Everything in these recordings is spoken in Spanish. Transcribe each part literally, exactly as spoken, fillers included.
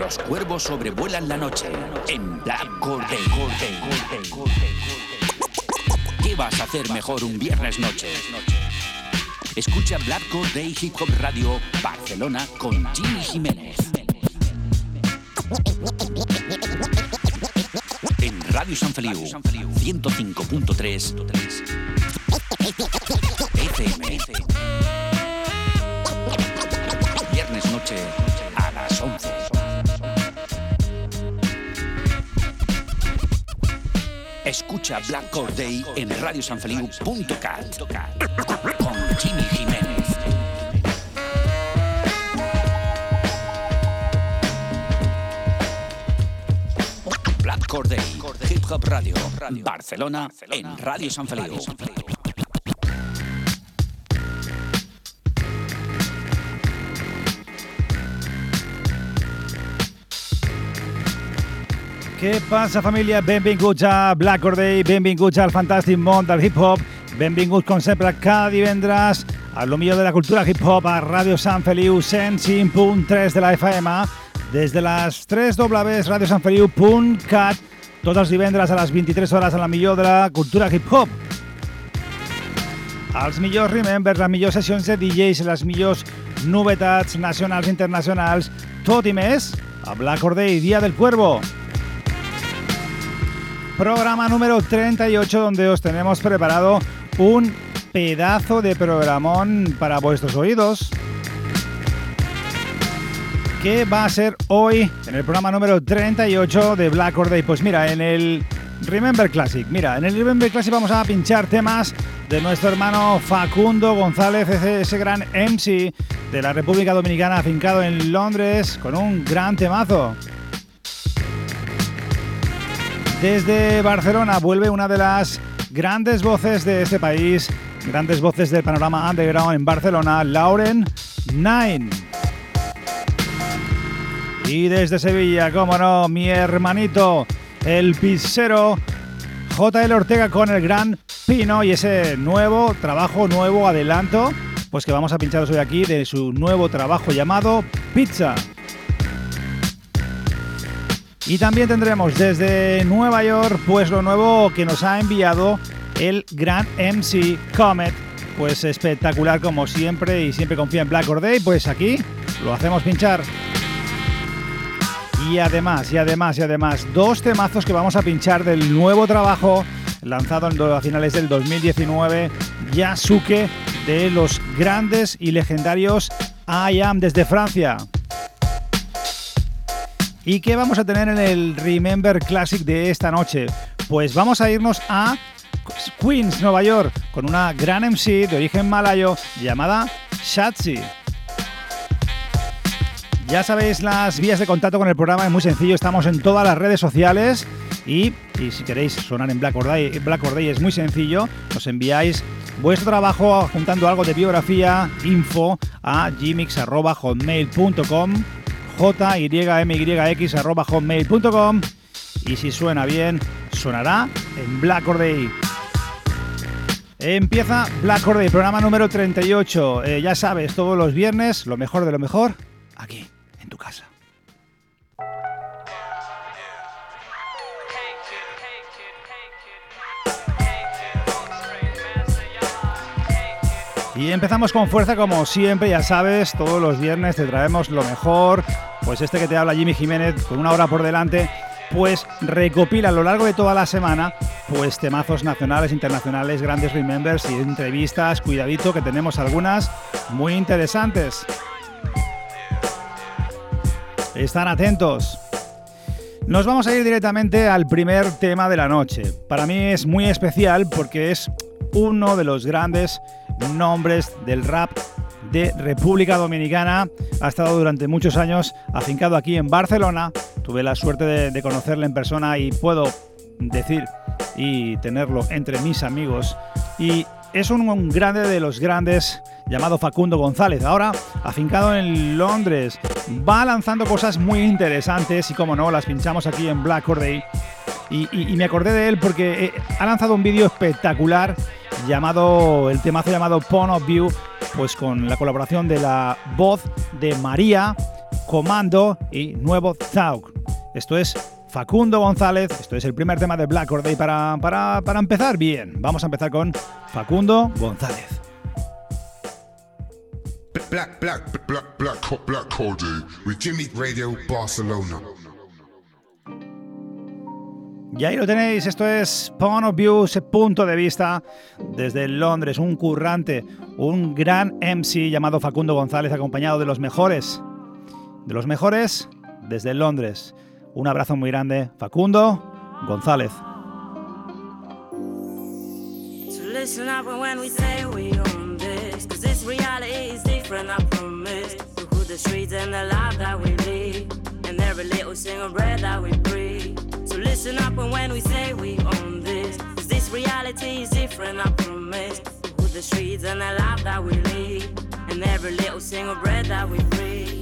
Los cuervos sobrevuelan la noche en Black Corday. ¿Qué vas a hacer mejor un viernes noche? Escucha Black Corday Hip Hop Radio Barcelona con Jimmy Jiménez. En Radio Sant Feliu ciento cinco punto tres F M. Viernes noche a las once. Escucha Black Corday en radio san feliu punto cat con Jimmy Jiménez. Black Corday Hip Hop Radio Barcelona en Radio Sant Feliu. Què passa, família? Benvinguts a Black Corday, benvinguts al fantàstic món del hip-hop, benvinguts, com sempre, cada divendres a lo millor de la cultura hip-hop a Ràdio Sant Feliu cent cinc punt tres de la F M, des de les tres w radio sant feliu punt cat, tots els divendres a les vint-i-tres hores a la millor de la cultura hip-hop. Els millors remembers, les millors sessions de D Js, les millors novetats nacionals i internacionals, tot i més a Black Corday, Día del Cuervo. Programa número treinta y ocho, donde os tenemos preparado un pedazo de programón para vuestros oídos. ¿Qué va a ser hoy en el programa número treinta y ocho de Black Corday? Pues mira, en el Remember Classic, mira, en el Remember Classic vamos a pinchar temas de nuestro hermano Facundo González, ese, ese gran M C de la República Dominicana, afincado en Londres, con un gran temazo. Desde Barcelona vuelve una de las grandes voces de este país, grandes voces del panorama underground en Barcelona, Lauren Nine. Y desde Sevilla, cómo no, mi hermanito, el pizzero J L Ortega con el gran Pino y ese nuevo trabajo, nuevo adelanto, pues que vamos a pincharos hoy aquí de su nuevo trabajo llamado Pizza. Y también tendremos desde Nueva York, pues lo nuevo que nos ha enviado el gran M C Comet, pues espectacular como siempre y siempre confía en Black Corday, pues aquí lo hacemos pinchar. Y además, y además, y además, dos temazos que vamos a pinchar del nuevo trabajo lanzado a finales del dos mil diecinueve, Yasuke, de los grandes y legendarios I Am desde Francia. ¿Y qué vamos a tener en el Remember Classic de esta noche? Pues vamos a irnos a Queens, Nueva York, con una gran M C de origen malayo llamada Shatsi. Ya sabéis las vías de contacto con el programa, es muy sencillo, estamos en todas las redes sociales y, y si queréis sonar en Black Corday, Black Corday es muy sencillo, nos enviáis vuestro trabajo juntando algo de biografía, info a gmix arroba hotmail punto com, j y m y x arroba hotmail punto com, y si suena bien, sonará en Black Corday. Empieza Black Corday, programa número treinta y ocho. Eh, ya sabes, todos los viernes, lo mejor de lo mejor, aquí, en tu casa. Y empezamos con fuerza como siempre, ya sabes, todos los viernes te traemos lo mejor. Pues este que te habla Jimmy Jiménez, con una hora por delante, pues recopila a lo largo de toda la semana pues temazos nacionales, internacionales, grandes remembers y entrevistas. Cuidadito que tenemos algunas muy interesantes. Están atentos. Nos vamos a ir directamente al primer tema de la noche. Para mí es muy especial porque es uno de los grandes nombres del rap de República Dominicana. Ha estado durante muchos años afincado aquí en Barcelona. Tuve la suerte de, de conocerle en persona y puedo decir y tenerlo entre mis amigos. Y es un, un grande de los grandes llamado Facundo González. Ahora afincado en Londres. Va lanzando cosas muy interesantes y como no, las pinchamos aquí en Black Corday. Y, y, y me acordé de él porque eh, ha lanzado un vídeo espectacular llamado, el temazo llamado Point of View, pues con la colaboración de la voz de María Comando y nuevo Zauk. Esto es Facundo González, esto es el primer tema de Black Or Day para, para, para empezar bien. Vamos a empezar con Facundo González. Black, black, black, black, black Or Day with Jimmy Radio Barcelona. Y ahí lo tenéis, esto es Point of View, ese punto de vista desde Londres, un currante, un gran M C llamado Facundo González, acompañado de los mejores, de los mejores desde Londres. Un abrazo muy grande, Facundo González. So listen up when we say we own this, 'cause this reality is different, I promise. Look at the streets and the life that we live, and every little single breath that we breathe. So listen up when we say we own this, 'cause this reality is different, I promise. Look at the streets and the life that we live, and every little single breath that we breathe.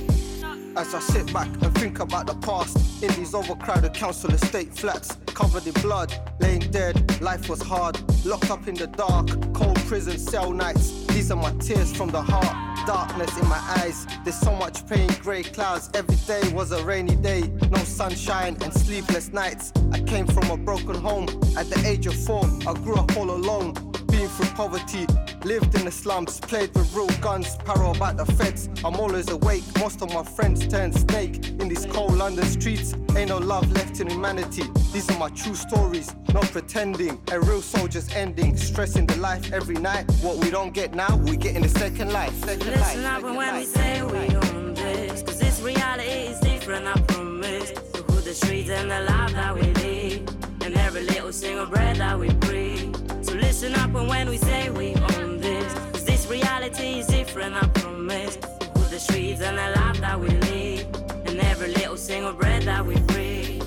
As I sit back and think about the past, in these overcrowded council estate flats, covered in blood, laying dead, life was hard, locked up in the dark, cold prison cell nights, these are my tears from the heart, darkness in my eyes, there's so much pain, grey clouds, every day was a rainy day, no sunshine and sleepless nights, I came from a broken home, at the age of four, I grew up all alone, being through poverty, lived in the slums, played with real guns, paro about the feds, I'm always awake, most of my friends turn snake, in these cold London streets, ain't no love left in humanity, these are my true stories, no pretending, a real soldier's ending, stressing the life every night, what we don't get now, we get in the second life, second life, Listen up when life, we say we own this, 'cause this reality is different, I promise. Look at the streets and the life that we live, and every little single breath that we breathe. So listen up when we say we own this, 'cause this reality is different, I promise. Look at the streets and the life that we live, and every little single breath that we breathe.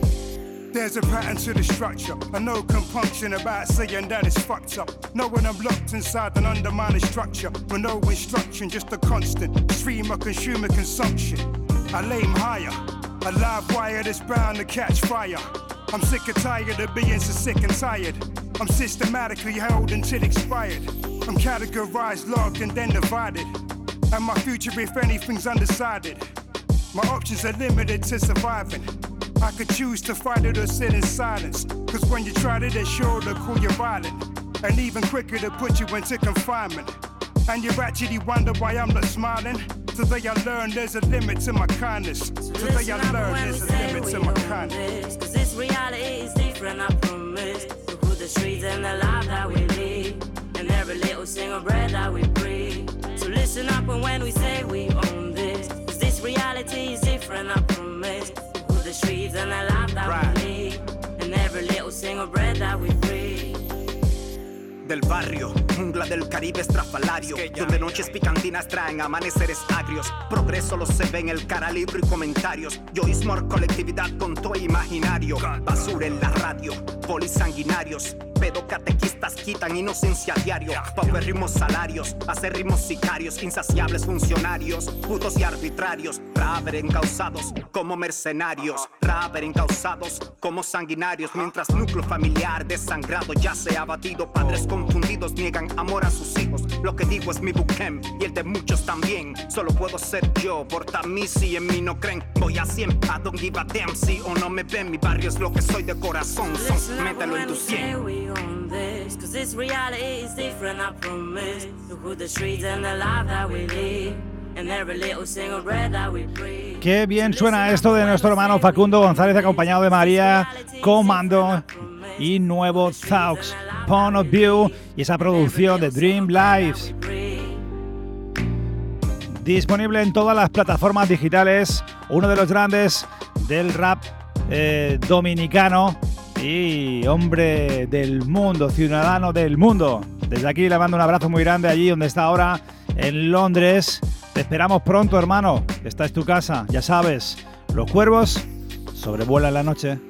There's a pattern to the structure, and no compunction about saying that it's fucked up. Knowing I'm locked inside an undermining structure, with no instruction, just a constant stream of consumer consumption. I lay 'em higher, a live wire that's bound to catch fire. I'm sick and tired of being so sick and tired. I'm systematically held until expired. I'm categorized, logged, and then divided. And my future, if anything's undecided. My options are limited to surviving. I could choose to fight it or sit in silence. Cause when you try to, they're sure to call you violent. And even quicker to put you into confinement. And you actually wonder why I'm not smiling. Today I learned there's a limit to my kindness. Today I learned there's a limit to my kindness. Cause this reality is different, I promise. Look at the streets and the life that we live, and every little single breath that we breathe. So listen up when we say we own this, cause this reality is different, I promise. Look at the streets and the life that right. we live, and every little single breath that we breathe. Del barrio, jungla del Caribe estrafalario, donde noches picantinas traen amaneceres agrios. Progreso lo se ve en el cara libre y comentarios. Yoísmo, colectividad con todo imaginario. Basura en la radio, polis sanguinarios. Pedocatequistas quitan inocencia a diario. Paupérrimos salarios, acérrimos sicarios. Insaciables funcionarios, putos y arbitrarios. Raver encausados como mercenarios. Raver encausados como sanguinarios. Mientras núcleo familiar desangrado ya se ha batido. Padres confundidos niegan amor a sus hijos. Lo que digo es mi buquem y el de muchos también. Solo puedo ser yo, por mí si en mí no creen. Voy a cien, I don't give a damn si o no me ven. Mi barrio es lo que soy de corazón. Son, mételo en tu cien. This, cause this reality is different, I promise. Look at the streets and the life that we live, and every little single breath that we breathe. Qué bien suena esto de nuestro hermano Facundo González, acompañado de María, Comando y nuevo Thaux, Point of View, y esa producción de Dream Lives. Disponible en todas las plataformas digitales, uno de los grandes del rap eh, dominicano y hombre del mundo, ciudadano del mundo. Desde aquí le mando un abrazo muy grande allí donde está ahora, en Londres. Te esperamos pronto, hermano. Esta es tu casa, ya sabes. Los cuervos sobrevuelan la noche.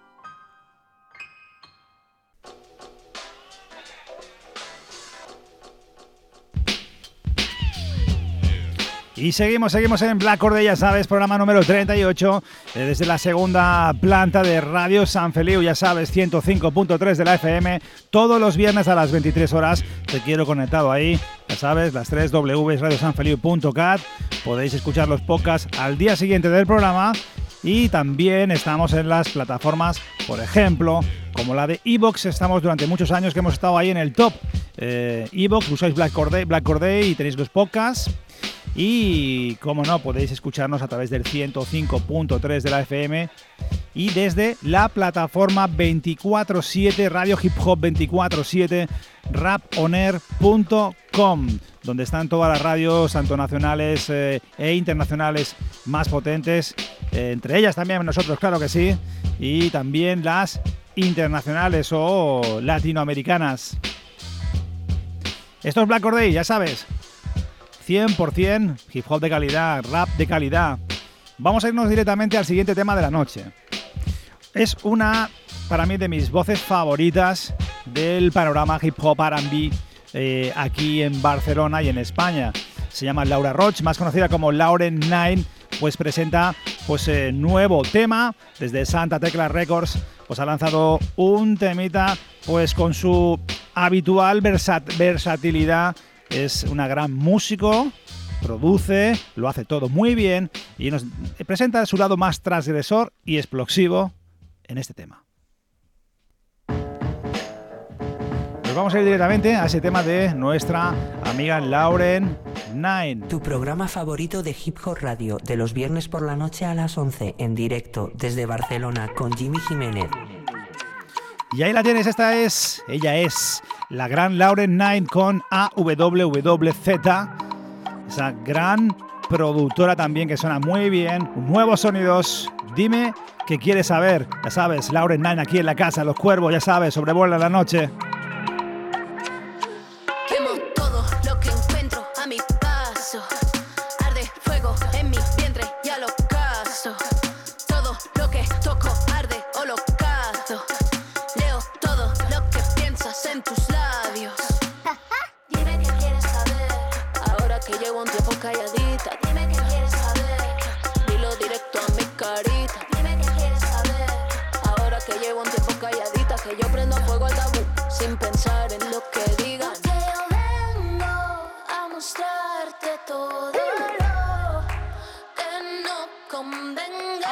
Y seguimos, seguimos en Black Or Day, ya sabes, programa número treinta y ocho, eh, desde la segunda planta de Radio San Feliu, ya sabes, ciento cinco punto tres de la F M, todos los viernes a las veintitrés horas, te quiero conectado ahí, ya sabes, las tres W's radio san feliu punto cat. Podéis escuchar los podcasts al día siguiente del programa y también estamos en las plataformas, por ejemplo, como la de iVoox. Estamos durante muchos años que hemos estado ahí en el top. Eh, iVoox, usáis Black Corday, Black Corday y tenéis los podcasts. Y, como no, podéis escucharnos a través del ciento cinco punto tres de la F M y desde la plataforma veinticuatro siete, Radio Hip Hop veinticuatro siete, rap on air punto com, donde están todas las radios, tanto nacionales eh, e internacionales más potentes, eh, entre ellas también nosotros, claro que sí, y también las internacionales o latinoamericanas. Esto es Black Corday, ya sabes. cien por ciento hip hop de calidad, rap de calidad. Vamos a irnos directamente al siguiente tema de la noche. Es una, para mí, de mis voces favoritas del panorama hip hop R and B eh, aquí en Barcelona y en España. Se llama Laura Roach, más conocida como Lauren Nine, pues presenta pues eh, nuevo tema desde Santa Tecla Records. Pues ha lanzado un temita pues con su habitual versat- versatilidad. Es una gran músico, produce, lo hace todo muy bien y nos presenta su lado más transgresor y explosivo en este tema. Pues vamos a ir directamente a ese tema de nuestra amiga Lauren Nine. Tu programa favorito de Hip Hop Radio, de los viernes por la noche a las once, en directo desde Barcelona con Jimmy Jiménez. Y ahí la tienes, esta es, ella es la gran Lauren Nine con A W W Z, esa gran productora también que suena muy bien, nuevos sonidos. Dime qué quieres saber, ya sabes, Lauren Nine aquí en la casa, Los Cuervos, ya sabes, sobrevuela la noche. Quemo todo lo que encuentro a mi paso, arde fuego en mi vientre y al ocaso, todo lo que toco arde holocausto. En tus labios. Dime qué quieres saber. Ahora que llevo un tiempo calladita. Dime qué quieres saber. Dilo directo a mi carita. Dime qué quieres saber. Ahora que llevo un tiempo calladita, que yo prendo fuego al tabú sin pensar en lo que diga. Porque yo vengo a mostrarte todo lo que no convenga.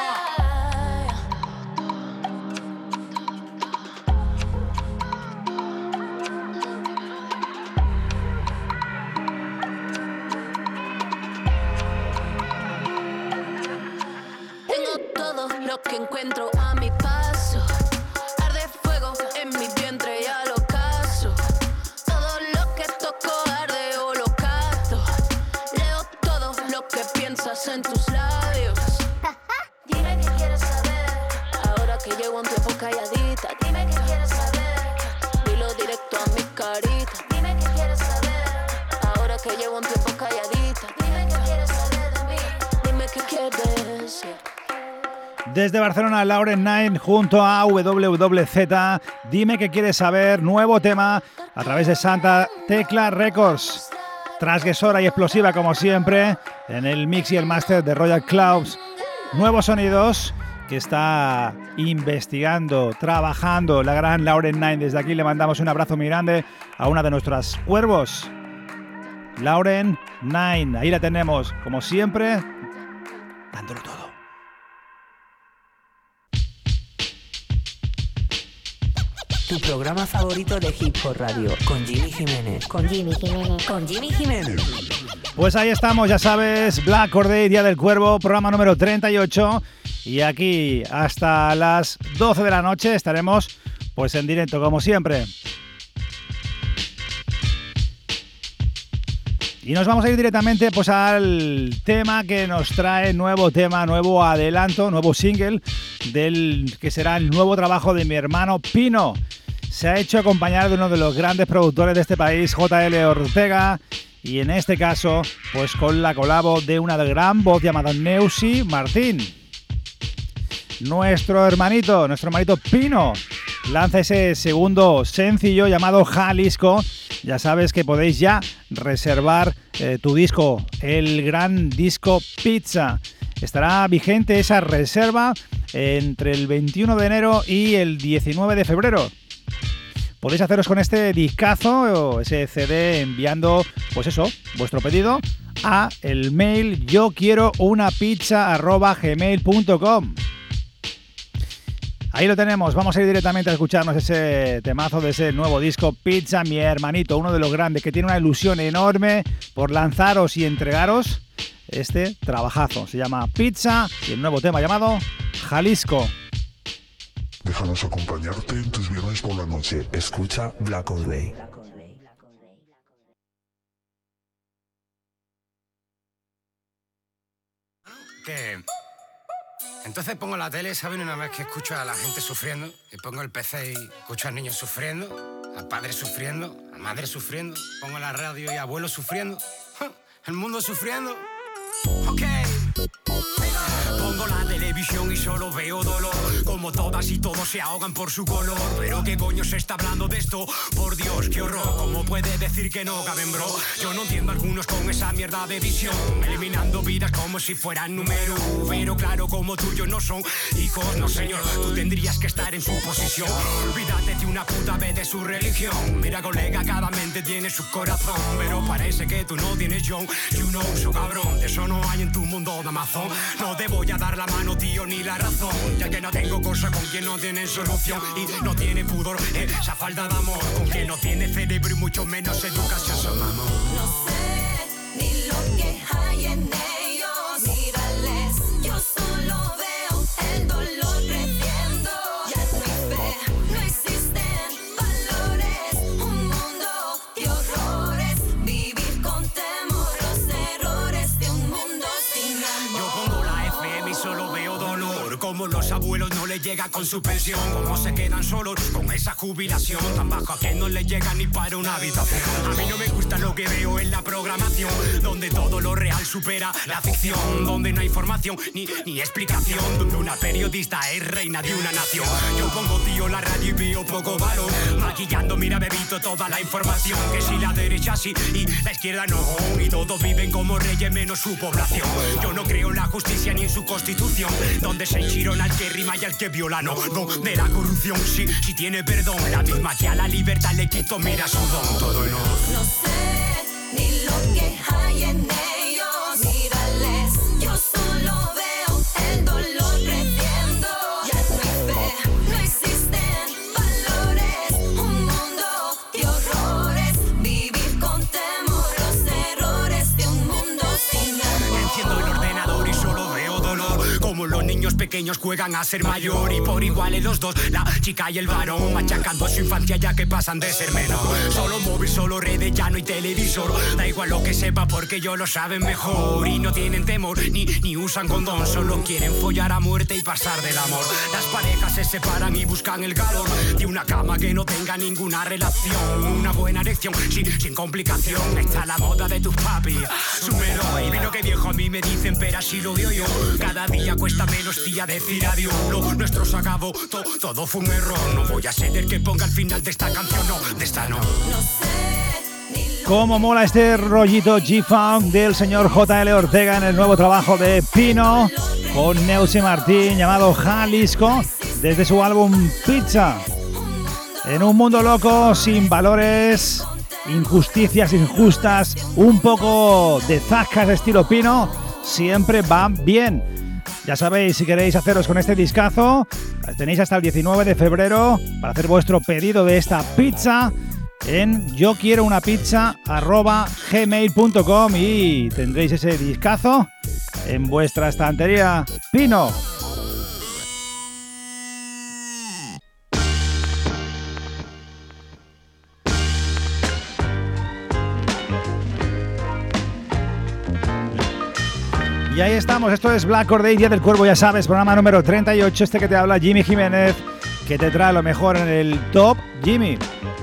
Lo que encuentro a mi paso, arde fuego en mi vientre y al ocaso. Todo lo que toco arde holocausto. Leo todo lo que piensas en tus labios. Dime qué quieres saber. Ahora que llevo un tiempo calladita. Dime qué quieres saber. Dilo directo a mi carita. Dime qué quieres saber. Ahora que llevo un tiempo calladita. Dime qué quieres saber de mí. Dime qué quieres decir. Desde Barcelona, Lauren Nine junto a A W W Z. Dime qué quieres saber, nuevo tema a través de Santa Tecla Records. Transgresora y explosiva como siempre en el mix y el máster de Royal Clouds. Nuevos sonidos que está investigando, trabajando la gran Lauren Nine. Desde aquí le mandamos un abrazo muy grande a una de nuestras cuervos, Lauren Nine. Ahí la tenemos, como siempre, dándolo todo. Tu programa favorito de Hip Hop Radio, con Jimmy Jiménez. Con Jimmy Jiménez. Con Jimmy Jiménez. Pues ahí estamos, ya sabes, Black Corday, Día del Cuervo, programa número treinta y ocho. Y aquí hasta las doce de la noche estaremos pues en directo, como siempre. Y nos vamos a ir directamente pues al tema que nos trae, nuevo tema, nuevo adelanto, nuevo single del que será el nuevo trabajo de mi hermano Pino. Se ha hecho acompañar de uno de los grandes productores de este país, J L Ortega, y en este caso pues con la colabo de una gran voz llamada Neusi Martín. Nuestro hermanito, nuestro hermanito Pino lanza ese segundo sencillo llamado Jalisco. Ya sabes que podéis ya reservar eh, tu disco, el gran disco Pizza. Estará vigente esa reserva entre el veintiuno de enero y el diecinueve de febrero. podéis haceros con este discazo o ese C D enviando, pues eso, vuestro pedido a el mail yo quiero una pizza arroba gmail punto com. Ahí lo tenemos, vamos a ir directamente a escucharnos ese temazo de ese nuevo disco Pizza, mi hermanito, uno de los grandes que tiene una ilusión enorme por lanzaros y entregaros este trabajazo. Se llama Pizza y el nuevo tema llamado Jalisco. Déjanos acompañarte en tus viernes por la noche. Escucha Black All Day. Que entonces pongo la tele, ¿saben? Una vez que escucho a la gente sufriendo, y pongo el P C y escucho a niños sufriendo, a padres sufriendo, a madres sufriendo, pongo la radio y a abuelos sufriendo, el mundo sufriendo. Ok. Pongo la televisión y solo veo dolor, como todas y todos se ahogan por su color. Pero qué coño se está hablando de esto, por Dios, qué horror. ¿Cómo puede decir que no caben, bro? Yo no entiendo a algunos con esa mierda de visión, eliminando vidas como si fueran número. Pero claro, como tuyos no son hijos, no señor, tú tendrías que estar en su posición. Olvídate de una puta vez de su religión. Mira colega, cada mente tiene su corazón, pero parece que tú no tienes John. You know, so cabrón, de eso no hay en tu mundo de Amazon. No te voy a dar la mano, tío, ni la razón, ya que no tengo cosa con quien no tiene solución y no tiene pudor, eh, esa falta de amor, con quien no tiene cerebro y mucho menos educación. Son amor. No sé ni lo que hay en ellos, mírales, yo solo veo el dolor creciendo. Ya no hay fe, no existen valores, un mundo de horrores, vivir con temor, los errores de un mundo sin amor. Yo pongo la F M y solo veo dolor, como los abuelos no les llega con su pensión, como se quedan solos con esa jubilación tan baja que no les llega ni para una habitación. A mí no me gusta lo que veo en la programación, donde todo lo real supera la ficción, donde no hay información ni, ni explicación, donde una periodista es reina de una nación. Yo pongo, tío, la radio y veo poco valor, maquillando, mira, bebito toda la información, que si la derecha sí y la izquierda no, y todos viven como reyes menos su población. Yo no creo en la justicia ni en su constitución, donde se enchirona al que rima y al que viola, no, no, de la corrupción sí, sí tiene perdón, la misma que a la libertad le quito, mira su don, todo en orden. No sé ni lo que hay en ellos, mírales, yo solo veo el dolor creciendo. Ya no hay fe, no existen valores, un mundo de horrores, vivir con temor, los errores de un mundo sin amor. Enciendo el ordenador y solo veo dolor, como los niños pequeños juegan a ser mayor, y por iguales los dos, la chica y el varón, machacando su infancia ya que pasan de ser menos. Solo móvil, solo redes, ya no hay televisor, da igual lo que sepa porque ellos lo saben mejor, y no tienen temor ni, ni usan condón, solo quieren follar a muerte y pasar del amor. Las parejas se separan y buscan el calor de una cama que no tenga ninguna relación, una buena erección sin, sin complicación. Está la moda de tus papi, súmelo, y vino que viejo a mí me dicen, pero así lo veo yo, cada día cuesta menos, tía, decir adiós. Lo nuestro se acabó, to, todo fue un error, no voy a ser el que ponga al final de esta canción, no, de esta no. No sé ni lo Cómo mola este rollito G-Funk del señor J L Ortega en el nuevo trabajo de Pino con Neusi Martín llamado Jalisco, desde su álbum Pizza. En un mundo loco, sin valores, injusticias injustas, un poco de zascas de estilo Pino, siempre va bien. Ya sabéis, si queréis haceros con este discazo, tenéis hasta el diecinueve de febrero para hacer vuestro pedido de esta pizza en yo quiero una pizza arroba gmail punto com y tendréis ese discazo en vuestra estantería. Pino. Y ahí estamos, esto es Black All Day, Día del Cuervo, ya sabes, programa número treinta y ocho, este que te habla Jimmy Jiménez, que te trae lo mejor en el Top Jimmy.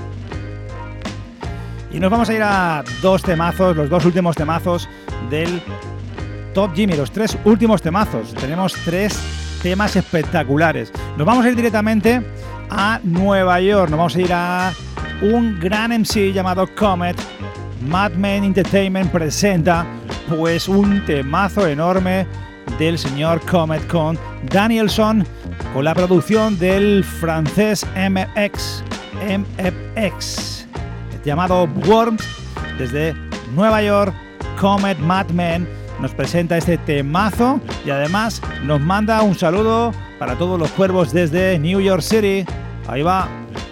Y nos vamos a ir a dos temazos, los dos últimos temazos del Top Jimmy, los tres últimos temazos. Tenemos tres temas espectaculares. Nos vamos a ir directamente a Nueva York, nos vamos a ir a un gran M C llamado Comet. Madman Entertainment presenta pues un temazo enorme del señor Comet con Danielson, con la producción del francés M X. M F X, llamado Worms. Desde Nueva York, Comet Madman nos presenta este temazo y además nos manda un saludo para todos los cuervos desde New York City. Ahí va.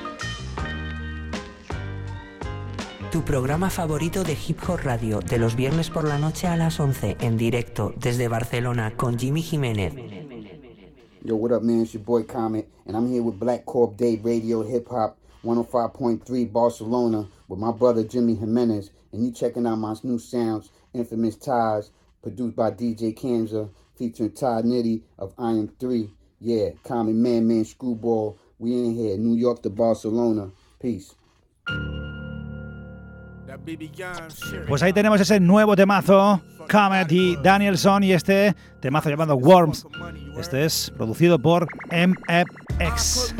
Tu programa favorito de Hip Hop Radio, de los viernes por la noche a las once, en directo desde Barcelona con Jimmy Jiménez. Yo, what up, man? It's your boy Comet, and I'm here with Black Corp Day Radio Hip Hop one oh five point three Barcelona with my brother Jimmy Jimenez, and you checking out my new sounds, Infamous Ties, produced by D J Kanza, featuring Ty Nitty of Iron three. Yeah, Comet Man Man Screwball, we in here, New York to Barcelona. Peace. Pues ahí tenemos ese nuevo temazo, Comet y Danielson, y este temazo llamado Worms. Este es producido por M F X.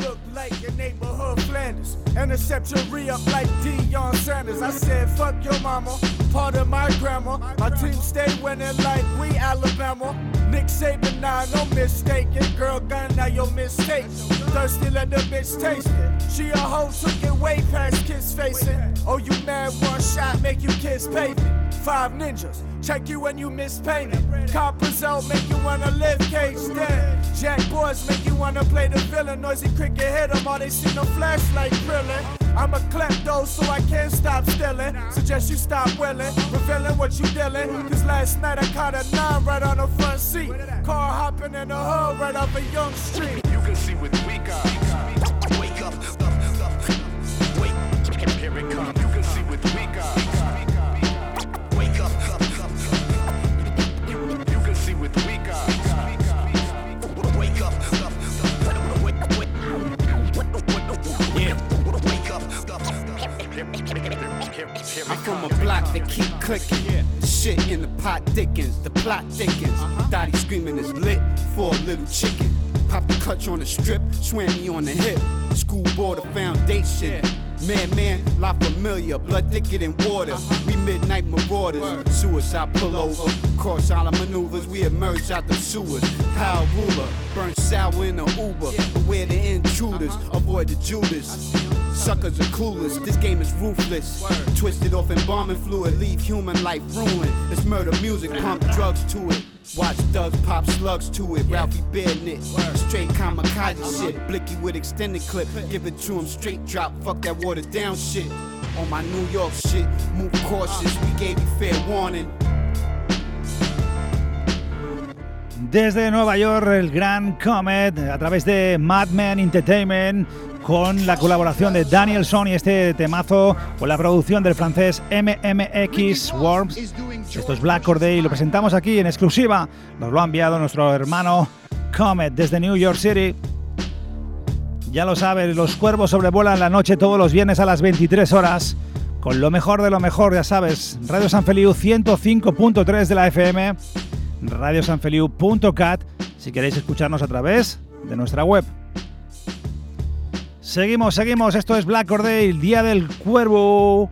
Intercept your re-up like Deion Sanders. I said, fuck your mama, part of my grandma. My team stay winning like we Alabama. Nick Saban, nah, no mistaken. Girl gun, now your mistake. Thirsty, let the bitch taste it. She a hoe, took it way past kiss facing. Oh, you mad, one shot, make you kiss pavement. Five ninjas, check you when you miss payment. Coppers out, make you wanna live cage dead. Jack boys make you wanna play the villain. Noisy cricket hit them, all they see no flashlight grilling. I'm a klepto, so I can't stop stealing. Suggest you stop willing, revealing what you dealing. Cause last night I caught a nine right on the front seat. Car hopping in the hood right off a young street. You can see with weak eyes. Wake up, up, up. Wake, here it comes. You can see with weak eyes. Wake up, up, up. You, you can see with weak eyes. Wake up, up, up. Wake, wake, yeah. Wake up, up. I'm from a block that keep clicking. The shit in the pot thickens, the plot thickens. Dottie screaming is lit for a little chicken. Pop the clutch on the strip, swam me on the hip. School board of foundation. Man, man, La Familia, blood thicker than water. We midnight marauders, suicide pullover. Cross all the maneuvers, we emerge out the sewers. Power ruler, burn sour in the Uber. Beware the intruders, avoid the Judas. Suckers are clueless, this game is ruthless. Twisted off embalming fluid, leave human life ruined. It's murder music, pump drugs to it. Watch thugs pop slugs to it, Ralphie Barenit. Straight kamikaze shit, Blicky with extended clip. Give it to him straight drop, fuck that watered down shit. On my New York shit, move cautious, we gave you fair warning. Desde Nueva York, el gran Comet, a través de Madman Entertainment, con la colaboración de Danielson y este temazo, con la producción del francés M M X Worms. Esto es Black Corday y lo presentamos aquí en exclusiva. Nos lo ha enviado nuestro hermano Comet desde New York City. Ya lo sabes, los cuervos sobrevuelan la noche todos los viernes a las veintitrés horas, con lo mejor de lo mejor, ya sabes. Radio San Feliu ciento cinco punto tres de la F M, radio san feliu punto cat, si queréis escucharnos a través de nuestra web. Seguimos, seguimos, esto es Black Corday, el Día del Cuervo.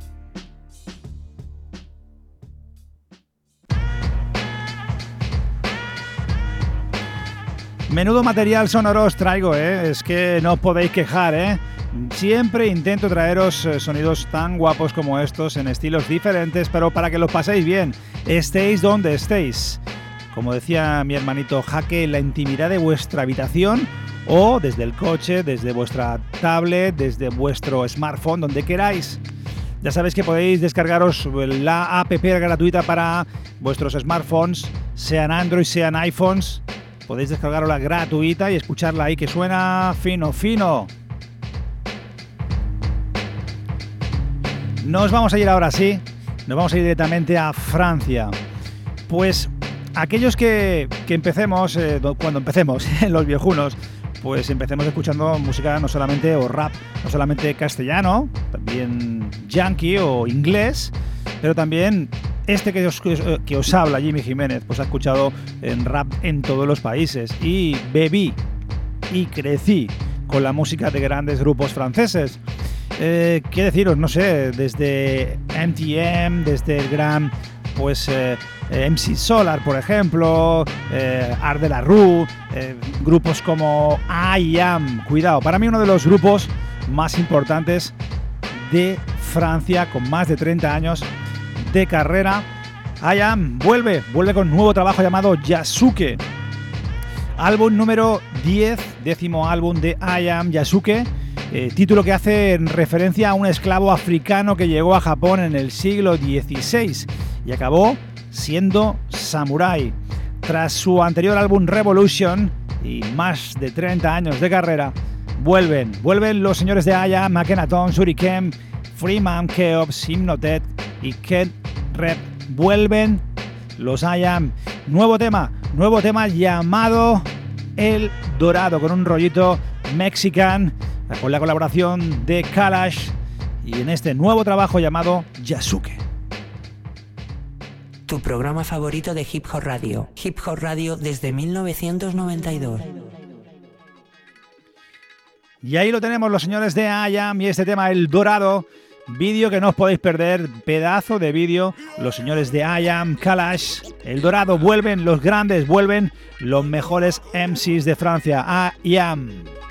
Menudo material sonoro os traigo, ¿eh? Es que no os podéis quejar, ¿eh? Siempre intento traeros sonidos tan guapos como estos en estilos diferentes, pero para que los paséis bien, estéis donde estéis. Como decía mi hermanito Jaque, en la intimidad de vuestra habitación o desde el coche, desde vuestra tablet, desde vuestro smartphone, donde queráis. Ya sabéis que podéis descargaros la app gratuita para vuestros smartphones, sean Android, sean iPhones. Podéis descargarla gratuita y escucharla ahí, que suena fino, fino. Nos vamos a ir ahora sí, nos vamos a ir directamente a Francia. Pues aquellos que, que empecemos, eh, cuando empecemos, los viejunos, pues empecemos escuchando música no solamente, o rap, no solamente castellano, también yankee o inglés, pero también este que os, que os habla, Jimmy Jiménez, pues ha escuchado en rap en todos los países y bebí y crecí con la música de grandes grupos franceses. Eh, ¿Qué deciros? No sé, desde M T M, desde el gran pues eh, M C Solar, por ejemplo, eh, Art de la Rue, eh, grupos como I Am. Cuidado, para mí uno de los grupos más importantes de Francia, con más de treinta años de carrera. I Am vuelve, vuelve con un nuevo trabajo llamado Yasuke. Álbum número diez, décimo álbum de I Am Yasuke, eh, título que hace referencia a un esclavo africano que llegó a Japón en el siglo dieciséis y acabó siendo samurái. Tras su anterior álbum Revolution y más de treinta años de carrera, vuelven, vuelven los señores de I Am, Akhenaton, Shuriken, Freeman, Keops, Hypnotet y Ken Rep. Vuelven los I Am. Nuevo tema, nuevo tema llamado El Dorado, con un rollito mexican, con la colaboración de Kalash y en este nuevo trabajo llamado Yasuke. Tu programa favorito de Hip Hop Radio. Hip Hop Radio desde mil novecientos noventa y dos. Y ahí lo tenemos, los señores de I Am y este tema El Dorado. Vídeo que no os podéis perder, pedazo de vídeo. Los señores de I Am, Kalash, El Dorado, vuelven los grandes, vuelven los mejores M Cs de Francia. I Am.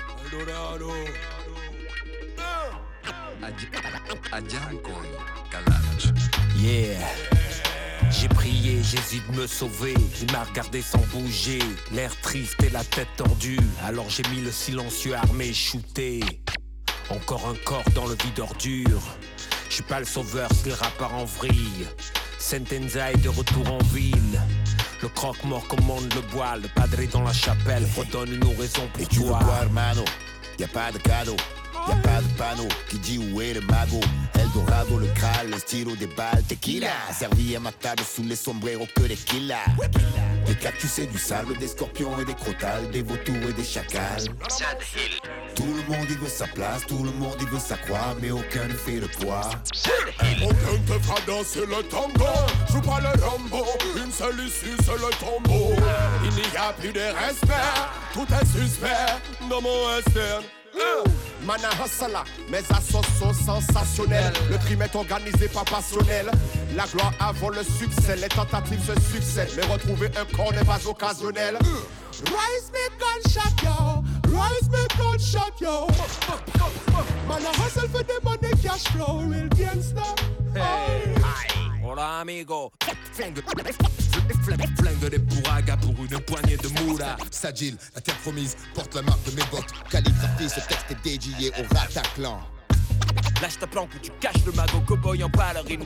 Yeah. J'ai prié Jésus de me sauver. Il m'a regardé sans bouger, l'air triste et la tête tordue. Alors j'ai mis le silencieux armé shooté. Encore un corps dans le vide ordure. Je suis pas le sauveur, c'est le rappeur en vrille. Sentenza est de retour en ville. Le croque-mort commande le bois. Le padre dans la chapelle redonne une raison pour Et tu toi. veux quoi, hermano? Y'a pas de cadeau, y'a pas de panneau qui dit où est le mago. El Dorado, le Graal, le stylo des balles, tequila. Servi à ma table sous les sombreros que des killas. Des cactus et du sable, des scorpions et des crotales, des vautours et des chacals. Tout le monde y veut sa place, tout le monde y veut sa croix, mais aucun ne fait le poids. Aucun te fera danser le tango. Joue pas le Rambo, une seule issue c'est le tombeau. Il n'y a plus de respect, tout est suspect dans mon western. Mana Hassala, mes assos sont sensationnels. Le crime est organisé pas passionnel. La gloire avant le succès, les tentatives se succèdent. Mais retrouver un corps n'est pas occasionnel. Rise me gunshot yo, rise me gunshot yo. Mana Hustle fait des money cash flow, real gangsta. Hey, hola amigo. Flingue, flingue des bourragas pour une poignée de moula. Sagil, la terre promise, porte la marque de mes bottes. Calligraphie, ce texte est dédié au Rataclan. Lâche ta planque ou tu caches le magot cowboy en ballerine.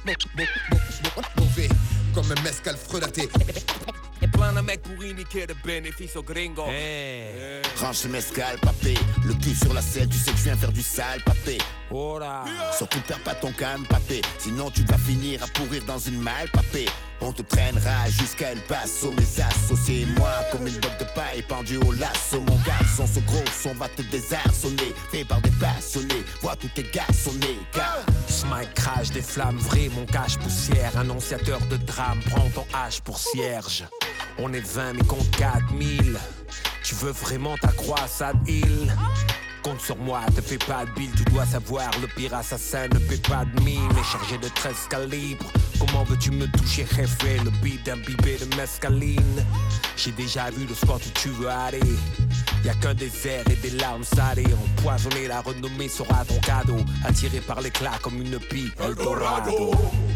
Mauvais, comme un mescal frelaté. Plein de mecs pour niquer de bénéfices aux gringos. Hey. Range ce mescal, papé. Le cul sur la selle, tu sais que je viens faire du sale, papé. Hola. Surtout perds pas ton calme, papé. Sinon tu vas finir à pourrir dans une malle, papé. On te traînera jusqu'à El Paso. Mes associés et moi, comme une botte de paille pendue au lasso. Mon garçon, ce gros son va te désarçonner. Fait par des passionnés, vois tous tes garçonnés. Car Smite crash des flammes vraies, mon cache poussière. Annonciateur de drame, prends ton hache pour cierge. On est vingt mais compte quatre mille. Tu veux vraiment ta croissade île? Compte sur moi, te fais pas de bile. Tu dois savoir, le pire assassin ne fait pas de mine. Et chargé de treize calibres, comment veux-tu me toucher, jefe? Le beat imbibé de mescaline. J'ai déjà vu le spot où tu veux aller. Y'a qu'un désert et des larmes salées. Empoisonner la renommée sera ton cadeau. Attiré par l'éclat comme une pie, El Dorado.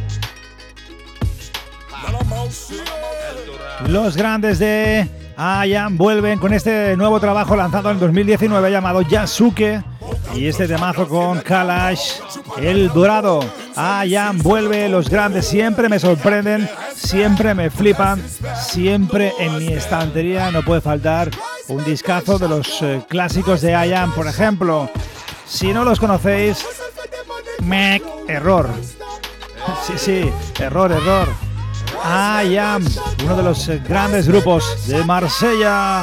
Los grandes de I Am vuelven con este nuevo trabajo lanzado en dos mil diecinueve llamado Yasuke y este temazo con Kalash, El Dorado. I Am vuelve, los grandes siempre me sorprenden, siempre me flipan, siempre en mi estantería no puede faltar un discazo de los eh, clásicos de I Am, por ejemplo. Si no los conocéis, mec, error. Sí, sí, error, error. I Am, uno de los grandes grupos de Marsella,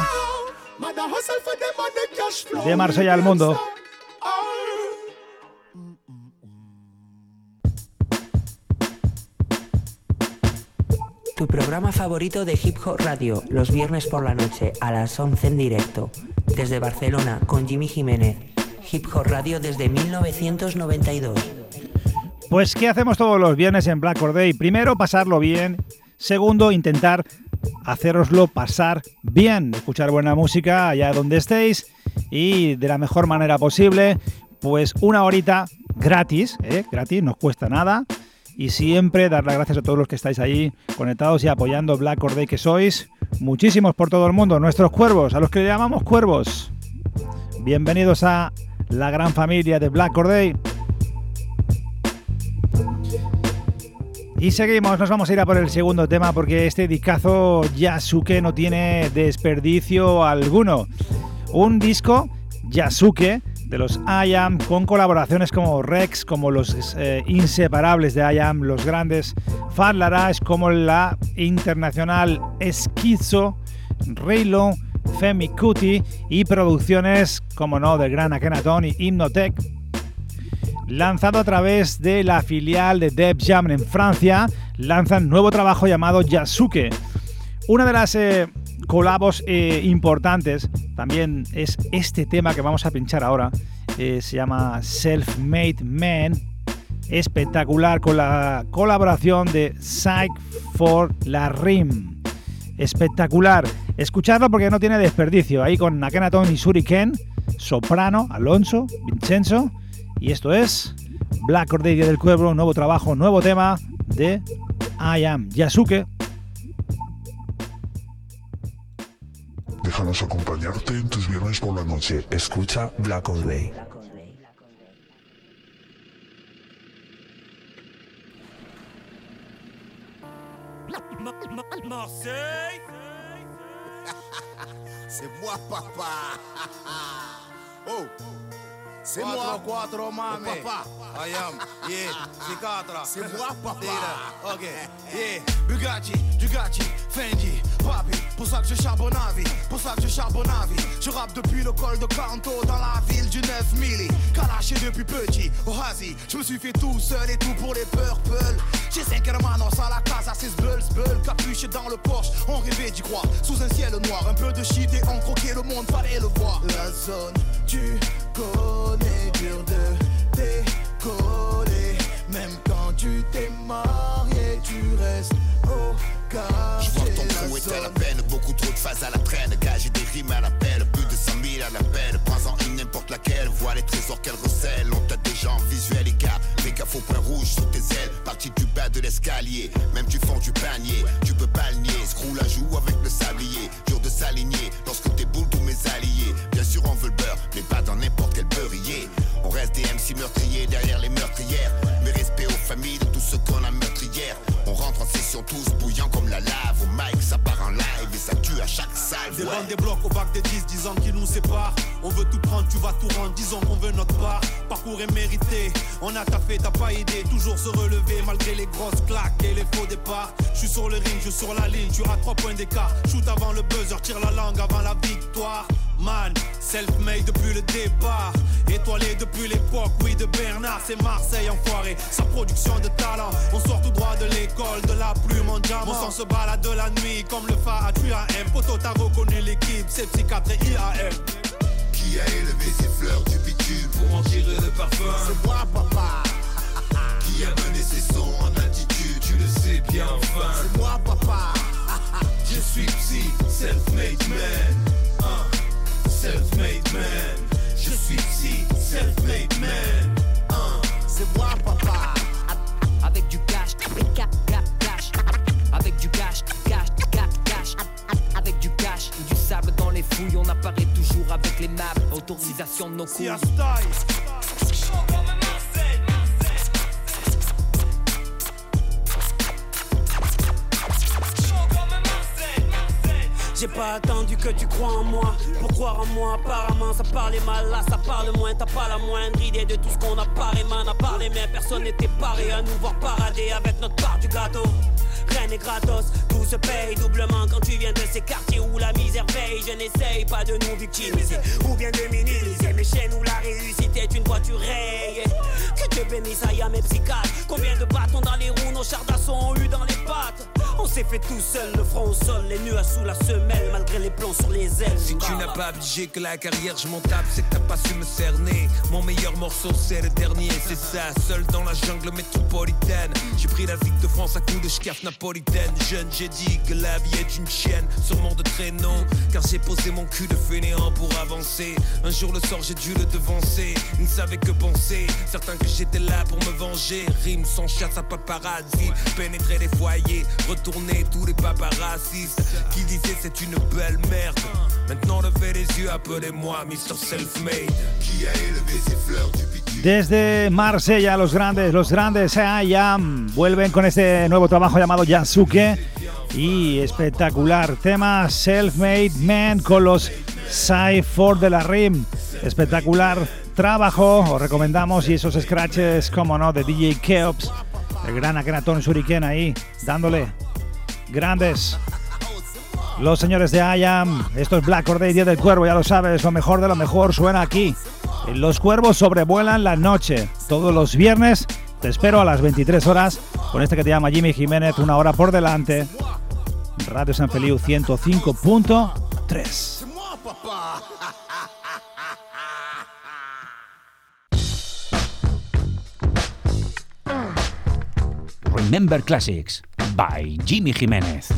de Marsella al mundo. Tu programa favorito de Hip Hop Radio, los viernes por la noche a las once en directo, desde Barcelona con Jimmy Jiménez. Hip Hop Radio desde mil novecientos noventa y dos. Pues ¿qué hacemos todos los viernes en Black Or Day? Primero, pasarlo bien. Segundo, intentar haceroslo pasar bien. Escuchar buena música allá donde estéis y de la mejor manera posible. pues una horita gratis, ¿eh? gratis, no os cuesta nada. Y siempre dar las gracias a todos los que estáis ahí conectados y apoyando Black Corday que sois. Muchísimos por todo el mundo, nuestros cuervos, a los que le llamamos cuervos. Bienvenidos a la gran familia de Black Corday. Y seguimos, nos vamos a ir a por el segundo tema porque este discazo Yasuke no tiene desperdicio alguno. Un disco Yasuke de los I Am, con colaboraciones como Rex, como los eh, inseparables de I Am, los grandes Fat Larage, como la internacional Schizo, Raylo, Femi Kuti y producciones, como no, del gran Akhenaton y Hypnotech. Lanzado a través de la filial de Def Jam en Francia, lanzan nuevo trabajo llamado Yasuke. Una de las eh, colabos eh, importantes también es este tema que vamos a pinchar ahora. Eh, se llama Self-Made Man. Espectacular, con la colaboración de Psych for la Rim. Espectacular. Escucharlo porque no tiene desperdicio. Ahí con Akhenaton y Shuriken, soprano, Alonso, Vincenzo. Y esto es Black Corday del Cuervo, nuevo trabajo, nuevo tema de I Am, Yasuke. Déjanos acompañarte en tus viernes por la noche. Escucha Black Corday. Marseille. C'est moi, papa. Oh. C'est moi. Quattro, mami. Oh, papa. I am. Yeah. C'est quatre. C'est moi, papa. Ok. Yeah. Bugatti, Bugatti, Fendi, Papi. Pour ça que je charbonne à vie. Pour ça que je charbonne à vie. Je rappe depuis le col de Canto dans la ville du neuf mille. Kalaché depuis petit. Au Hazi. Je me suis fait tout seul et tout pour les Purple. J'ai cinq hermanos à la casa, c'est Sbull, Sbull. Capuché dans le Porsche. On rêvait d'y croire. Sous un ciel noir. Un peu de shit et on croquait le monde. Fallait le voir. La zone, tu connais, dur de décoller. Même quand tu t'es marié, tu restes au quartier. Je vois ton trou est à la peine, beaucoup trop de phases à la traîne. Gager des rimes à l'appel, plus de cent mille à l'appel. Prends-en une n'importe laquelle, vois les trésors qu'elle recèle. On t'a déjà en visuel, écart, fais gaffe au point rouge sous tes ailes. Parti du bas de l'escalier, même du fond du panier. Tu peux pas le nier, screw la joue avec le sablier. Dur de s'aligner, lorsque t'es boule tous mes alliés. Bien sûr on veut le beurre, mais pas dans n'importe quel beurrier. On reste des M C meurtriers derrière les meurtrières. Mais respect aux familles de tous ceux qu'on a meurtrières. On rentre en session tous bouillants comme la lave. Au mic ça part en live et ça tue à chaque salve. Des ouais. bandes, des blocs au bac des dix, dix ans qui nous séparent. On veut tout prendre, tu vas tout rendre, disons qu'on veut notre part. Parcours est mérité, on a taffé, t'as pas idée. Toujours se relever malgré les grosses claques et les faux départs. Je suis sur le ring, je suis sur la ligne, tu as trois points d'écart. Shoot avant le buzzer, tire la langue avant la victoire. Man, self-made depuis le départ. Étoilé depuis l'époque, oui, de Bernard. C'est Marseille enfoiré, sa production de talent. On sort tout droit de l'école, de la plume en diamant. On s'en se balade de la nuit comme le Fahad, tu as M. Poto, t'as reconnu l'équipe, c'est Psychiatre et I A M. Qui a élevé ses fleurs du bitume pour en tirer le parfum? C'est moi, papa. Qui a mené ses sons en altitude? Tu le sais bien enfin. C'est moi, papa. Je suis Psy, self-made man. Uh, self-made man. Je suis Psy, self-made man. Uh. C'est moi, papa. Avec du cash, cash, cash. Avec du cash, cash, cash, cash. Avec du cash, du sable dans les fouilles. On apparaît toujours avec les maps. Autorisation de nos couilles. J'ai pas attendu que tu crois en moi. Pour croire en moi, apparemment ça parlait mal. Là ça parle moins, t'as pas la moindre idée de tout ce qu'on a parlé, man. À part les mains, personne n'était paré à nous voir parader avec notre part du gâteau. Rien n'est gratos, tout se paye doublement quand tu viens de ces quartiers où la misère veille. Je n'essaye pas de nous victimiser ou bien de minimiser mes chaînes où la réussite est une voiture rayée. Que Dieu bénisse, I am et psychiatre. Combien de bâtons dans les roues, nos chars d'assaut ont eu dans les pattes. On s'est fait tout seul, le front au sol, les nuages sous la semelle, malgré les plans sur les ailes. Si tu n'as pas abdigé que la carrière je m'en tape, c'est que t'as pas su me cerner. Mon meilleur morceau c'est le dernier, c'est ça. Seul dans la jungle métropolitaine, j'ai pris la ville de France à coups de schcaf napolitaine. Jeune j'ai dit que la vie est une chienne, sûrement de traîneau, car j'ai posé mon cul de fainéant pour avancer. Un jour le sort j'ai dû le devancer, il ne savait que penser, certain que j'étais là pour me venger. Rime sans chasse à paparazzi, pénétrer les foyers, retourner tous les paparazzistes qui disaient c'est une belle merde. Maintenant levez les yeux, appelez-moi mister Selfmade. Qui a élevé ses fleurs du bitume. Desde Marsella, los grandes, los grandes I Am vuelven con este nuevo trabajo llamado Yasuke y espectacular tema Self-Made Man con los Cypher de la Rim. Espectacular trabajo, os recomendamos, y esos scratches, como no, de D J Keops, el gran Akhenaton Shuriken ahí, dándole grandes. Los señores de I Am, esto es Black Or Day, Día del Cuervo, ya lo sabes, lo mejor de lo mejor suena aquí. Los cuervos sobrevuelan la noche, todos los viernes, te espero a las veintitrés horas, con este que te llama Jimmy Jiménez, una hora por delante, Radio San Feliu ciento cinco punto tres. Remember Classics by Jimmy Jiménez.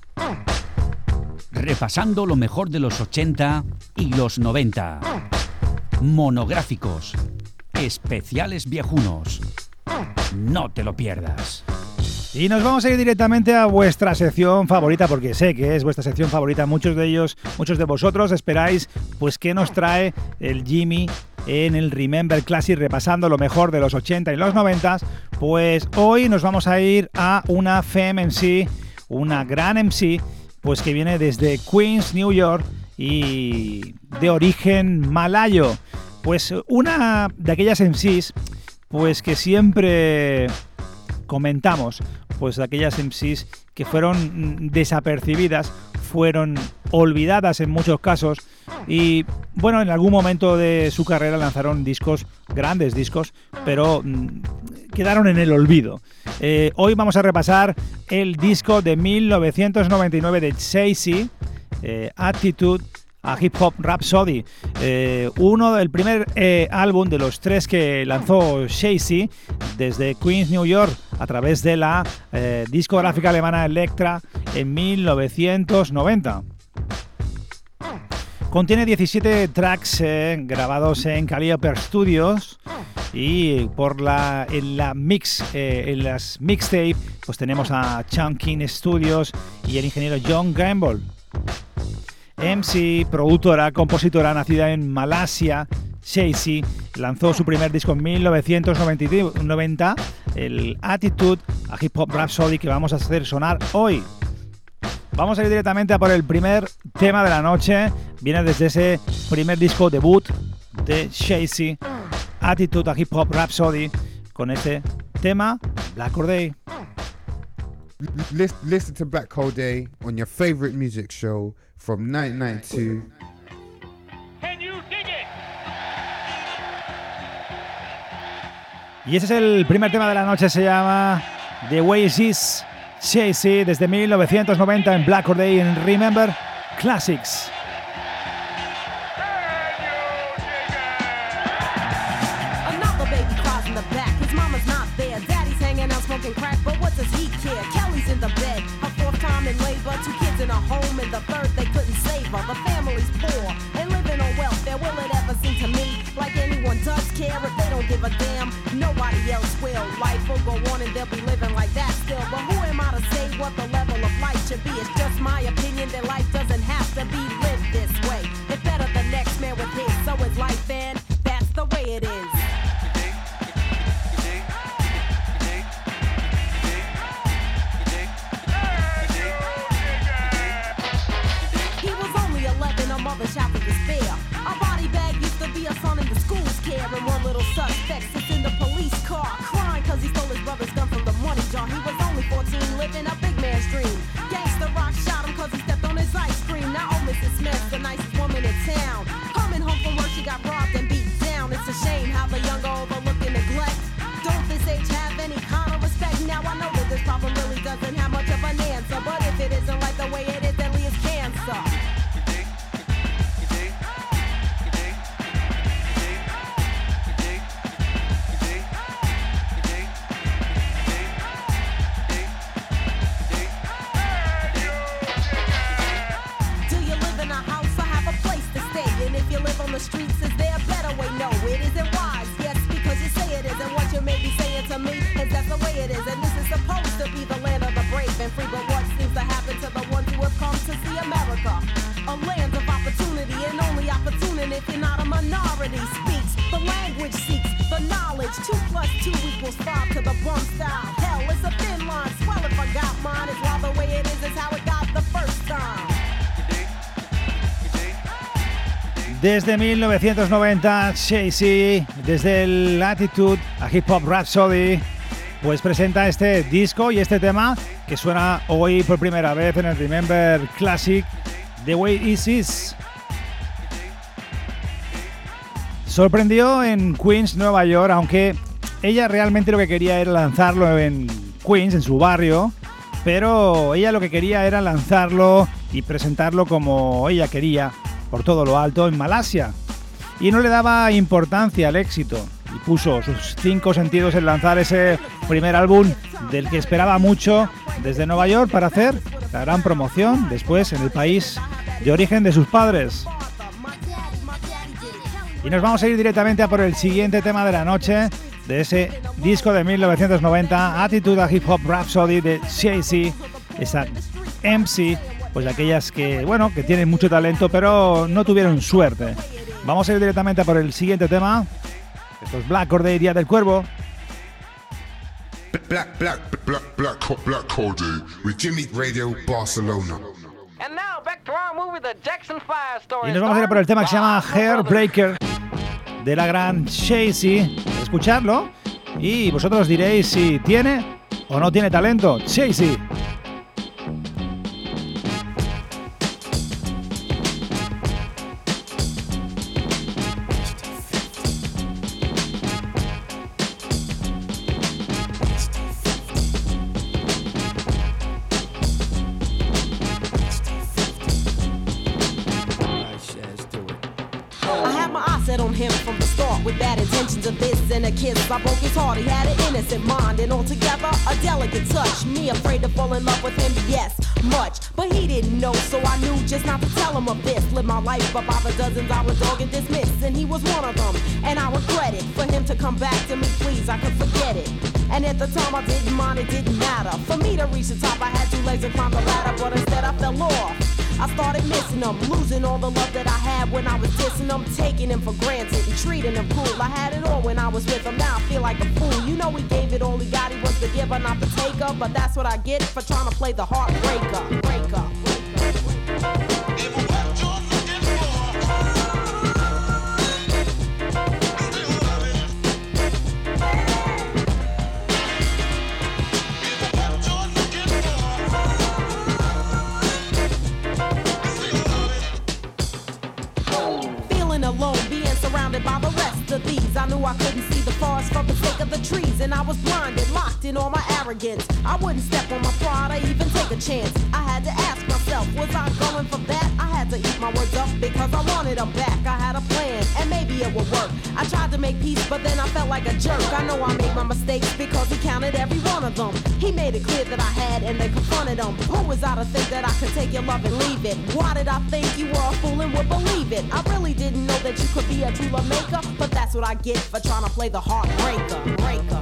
Repasando lo mejor de los ochenta y los noventa. Monográficos, especiales viejunos. No te lo pierdas. Y nos vamos a ir directamente a vuestra sección favorita, porque sé que es vuestra sección favorita. Muchos de ellos, muchos de vosotros esperáis, pues, qué nos trae el Jimmy en el Remember Classic, repasando lo mejor de los ochenta y los noventa. Pues hoy nos vamos a ir a una Femme M C, una gran M C, pues que viene desde Queens, New York, y de origen malayo. Pues una de aquellas M Cs, pues que siempre comentamos, pues de aquellas M Cs que fueron desapercibidas, fueron olvidadas en muchos casos, y bueno, en algún momento de su carrera lanzaron discos, grandes discos, pero mmm, quedaron en el olvido. Eh, hoy vamos a repasar el disco de mil novecientos noventa y nueve de Jay-Z, eh, Attitude, a Hip Hop Rhapsody, eh, uno del primer eh, álbum de los tres que lanzó Jay-Z desde Queens, New York, a través de la eh, discográfica alemana Elektra en mil novecientos noventa. Contiene diecisiete tracks eh, grabados en Calliope Studios, y por la en la mix eh, en las mixtape pues tenemos a Chunkin Studios y el ingeniero John Gamble. M C, productora, compositora, nacida en Malasia, Jay-Z lanzó su primer disco en mil novecientos noventa, el Attitude, a Hip Hop Rhapsody, que vamos a hacer sonar hoy. Vamos a ir directamente a por el primer tema de la noche. Viene desde ese primer disco debut de Jay-Z, Attitude, a Hip Hop Rhapsody, con este tema, Black Or Day. Listen to Black Or Day on your favorite music show from nineteen ninety-two. Y ese es el primer tema de la noche, se llama The Way It Is, Jay-Z, desde mil novecientos noventa en Black Or Day en Remember Classics. Another baby cries in the back, his mama's not there, daddy's hanging out smoking crack, but what does he care? Kelly's in the bed, her fourth time in labor, two kids in a home, and the third they couldn't save her. The family's poor and living on welfare. Will it ever seem to me like anyone does care? If they don't give a damn, nobody else will. Life will go on and they'll be living like that still. But who am I to say what the level of life should be? It's just my opinion that life doesn't have to be lived this way. It's better the next man with his, so is life, and that's the way it is. Mother shouted despair. Our body bag used to be a son in the school's care, and one little suspect sits in the police car crying cause he stole his brother's gun from the money jar. He was only fourteen, living a big man's dream. Gangsta Rock shot him cause he stepped on his ice cream. Now old Missus Smith, the nicest woman in town, coming home from work, she got robbed and beat down. It's a shame how the young overlook and neglect. Don't this age have any kind of respect? Now I know that this problem really doesn't have much of an answer. But if it isn't like the way it is, deadly as cancer. On the streets, is there a better way? No, it isn't wise. Yes, because you say it is, and what you may be saying to me is that's the way it is, and this is supposed to be the land of the brave and free. But what seems to happen to the ones who have come to see America? A land of opportunity, and only opportunity if you're not a minority speaks. The language seeks the knowledge. Two plus two equals five to the bum style. Hell, it's a thin line. Swell if I got mine. It's why the way it is is how it got the first time. Desde mil novecientos noventa, Jay-Z, desde el Attitude a Hip Hop Rhapsody, pues presenta este disco y este tema que suena hoy por primera vez en el Remember Classic, The Way It Is. Sorprendió en Queens, Nueva York, aunque ella realmente lo que quería era lanzarlo en Queens, en su barrio, pero ella lo que quería era lanzarlo y presentarlo como ella quería, por todo lo alto, en Malasia, y no le daba importancia al éxito y puso sus cinco sentidos en lanzar ese primer álbum del que esperaba mucho desde Nueva York para hacer la gran promoción después en el país de origen de sus padres. Y nos vamos a ir directamente a por el siguiente tema de la noche de ese disco de mil novecientos noventa, Attitude a Hip Hop Rhapsody de Jay-Z, esa M C, pues de aquellas que, bueno, que tienen mucho talento, pero no tuvieron suerte. Vamos a ir directamente a por el siguiente tema. Esto es Black Corday, Día del Cuervo. Black, black, black, black, black Corday with Jimmy Radio Barcelona. And now back to our movie, The Jackson Five Story. Y nos vamos a ir por el tema que se llama Hairbreaker de la gran Jay-Z. Escuchadlo y vosotros diréis si tiene o no tiene talento. Jay-Z. And a kiss, I broke his heart, he had an innocent mind and altogether a delicate touch. Me afraid to fall in love with him, yes, much. But he didn't know, so I knew just not to tell him of this. Live my life but by the dozens I was dog and dismissed, and he was one of them. And I regret it, for him to come back to me, please, I could forget it. And at the time I didn't mind, it didn't matter. For me to reach the top, I had two legs and climb the ladder, but instead I fell off. I started missing him, losing all the love that I had when I was dissing him, taking him for granted and treating him cool. I had it all when I was with him, now I feel like a fool. You know he gave it all he got, he was the giver, not the taker. But that's what I get for trying to play the heartbreaker. Breaker. By the rest of these, I knew I couldn't see the forest from the sake of the trees, and I was blinded, locked in all my arrogance. I wouldn't step on my pride or even take a chance. I had to ask myself, was I going for that? I had to eat my words up because I wanted them back. I had a plan, and maybe it would work. I tried to make peace, but then I felt like a jerk. I know I made my mistakes because he counted every one of them. He made it clear that I had, and they confronted him. Who was I to think that I could take your love and leave it? Why did I think you were a fool and would believe it? I really didn't know that you could be a true love maker, but that's what I get for trying to play the heartbreaker. Breaker.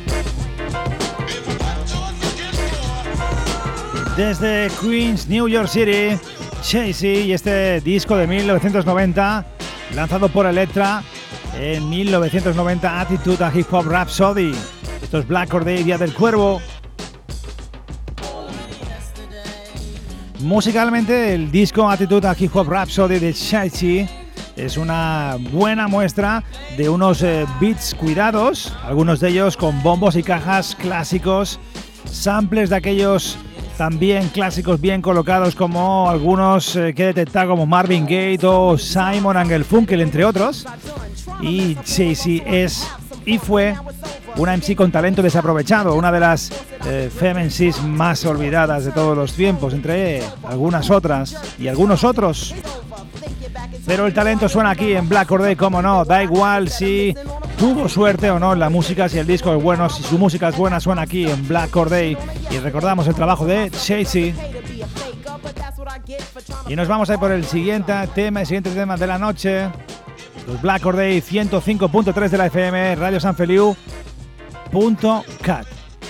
Desde Queens, New York City, Jay-Z y este disco de mil novecientos noventa, lanzado por Elektra en mil novecientos noventa, Attitude a Hip Hop Rhapsody. Esto es Black Corday, Día del Cuervo. Musicalmente, el disco Attitude a Hip Hop Rhapsody de Jay-Z es una buena muestra de unos eh, beats cuidados, algunos de ellos con bombos y cajas clásicos, samples de aquellos también clásicos bien colocados como algunos eh, que he detectado como Marvin Gaye o Simon and Garfunkel, entre otros. Y Jay-Z es y fue una M C con talento desaprovechado, una de las eh, fem M Cs más olvidadas de todos los tiempos, entre algunas otras y algunos otros. Pero el talento suena aquí en Black Corday, como no, da igual si tuvo suerte o no en la música, si el disco es bueno, si su música es buena, suena aquí en Black Corday. Y recordamos el trabajo de Chasey. Y nos vamos a ir por el siguiente tema, el siguiente tema de la noche. Los Black Corday ciento cinco punto tres de la F M, radio san feliu punto cat.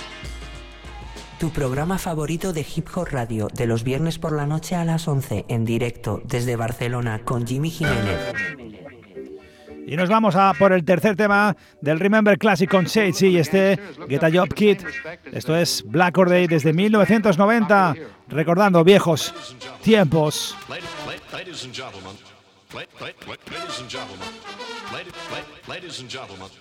Tu programa favorito de Hip Hop Radio, de los viernes por la noche a las once, en directo desde Barcelona con Jimmy Jiménez. Y nos vamos a por el tercer tema del Remember Classic con Chasey y este Get a Job Kid. Esto es Black Corday desde mil novecientos noventa, recordando viejos tiempos. Ladies and gentlemen, ladies and gentlemen, ladies and gentlemen.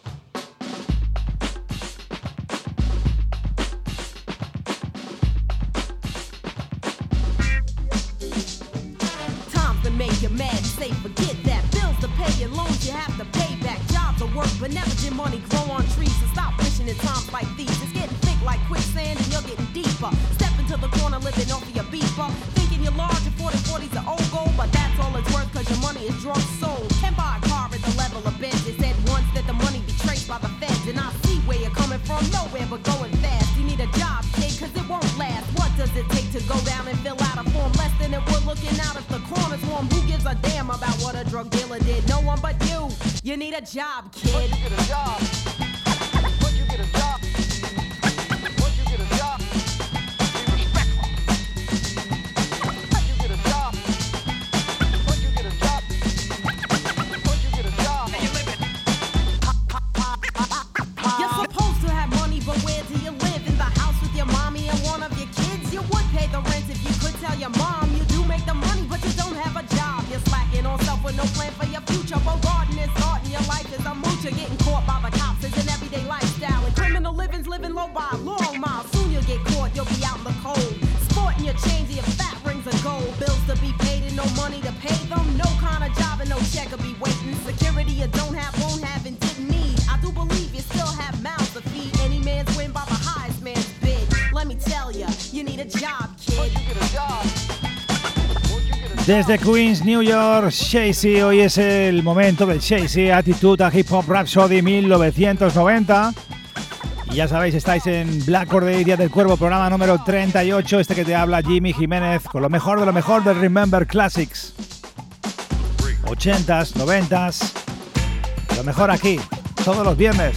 Make you mad and say forget that. Bills to pay and loans you have to pay back. Jobs to work but never did money grow on trees. So stop wishing in times like these. It's getting thick like quicksand and you're getting deeper. Step into the corner living off of your beeper. Thinking you're large and forty forty's an old goal, but that's all it's worth cause your money is drunk sold. Can buy a car at the level of Benz. It said once that the money be traced by the feds. And I see where you're coming from, nowhere but going fast. You need a job, kid, cause it won't last. What does it take to go down and fill out a form? Less than it would looking out if the corner's warm. Who gives a damn about what a drug dealer did? No one but you. You need a job, kid. Once you get a job. Once you get a job. Once you get a job. Be respectful. Once you get a job. Once you get a job. Once you get a job. And you live it. You're supposed to have money, but where do you live? In the house with your mommy and one of your kids? You would pay the rent if you could tell your mom you do make the money, but you don't have a job. You're slacking on self with no plan for your future. But garden is hard and your life is a moocher. Getting caught by the cops is an everyday lifestyle. And criminal living's living low by a long mile. Soon you'll get caught, you'll be out in the cold. Sporting your chains and your fat rings of gold. Bills to be paid and no money to pay them. No kind of job and no check will be waiting. Security you don't have, won't have, and didn't need. I do believe you still have mouths to feed. Any man's win by the highest man's bid. Let me tell ya, you need a job, kid. You get a job. Desde Queens, New York, Chasey. Hoy es el momento del Chasey Attitude a Hip Hop Rhapsody mil novecientos noventa. Y ya sabéis, estáis en Black Corday, Día del Cuervo, programa número treinta y ocho. Este que te habla Jimmy Jiménez, con lo mejor de lo mejor del Remember Classics. ochentas, noventas, lo mejor aquí, todos los viernes.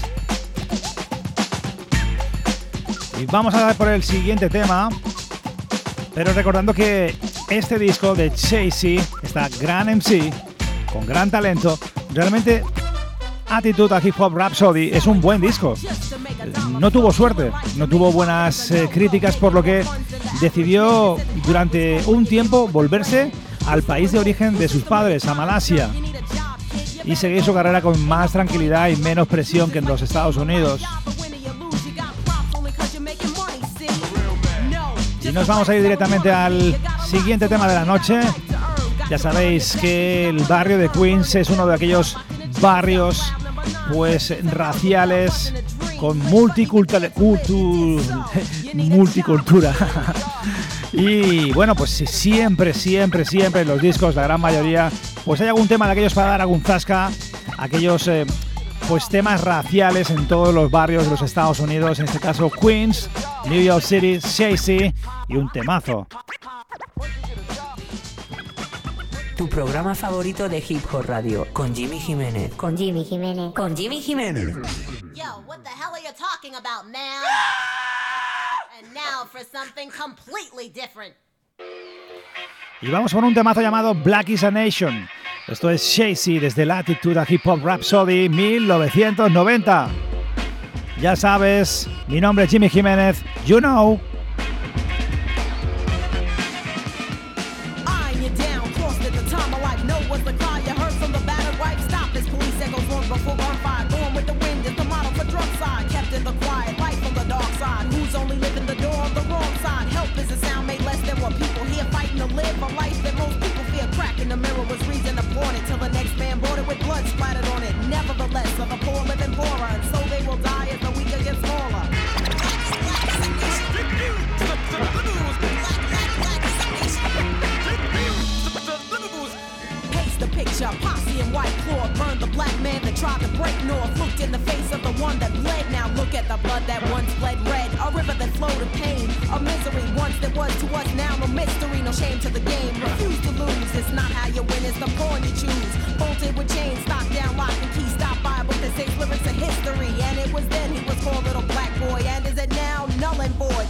Y vamos a dar por el siguiente tema, pero recordando que este disco de Chasey, esta gran M C, con gran talento, realmente Attitude a Hip Hop Rhapsody es un buen disco. No tuvo suerte, no tuvo buenas eh, críticas, por lo que decidió durante un tiempo volverse al país de origen de sus padres, a Malasia, y seguir su carrera con más tranquilidad y menos presión que en los Estados Unidos. Y nos vamos a ir directamente al siguiente tema de la noche. Ya sabéis que el barrio de Queens es uno de aquellos barrios pues raciales con multicultura, cultu, multicultura. Y bueno, pues siempre, siempre, siempre en los discos, la gran mayoría, pues hay algún tema de aquellos para dar algún zasca, aquellos eh, pues temas raciales en todos los barrios de los Estados Unidos, en este caso Queens, New York City, Chasey y un temazo. Tu programa favorito de Hip Hop Radio, con Jimmy Jiménez. Con Jimmy Jiménez. Con Jimmy Jiménez. Yo, what the hell are you talking about, man? And now for something completely different. Y vamos por un temazo llamado Black is a Nation. Esto es Chasey desde la Attitude a Hip Hop Rhapsody mil novecientos noventa. Ya sabes, mi nombre es Jimmy Jiménez. You know. Live a life that most people fear. Crack in the mirror was reason to pawn it till the next man bought it with blood splattered on it. Nevertheless, are the poor living poorer, and so they will die as the A misery once there was to us, now no mystery, no shame to the game. Refuse to lose, it's not how you win, it's the pawn you choose. Bolted with chains, stock down, lock and key, stop by a book that says lyrics of history. And it was then he was called Little Black Boy, and is it now null and void?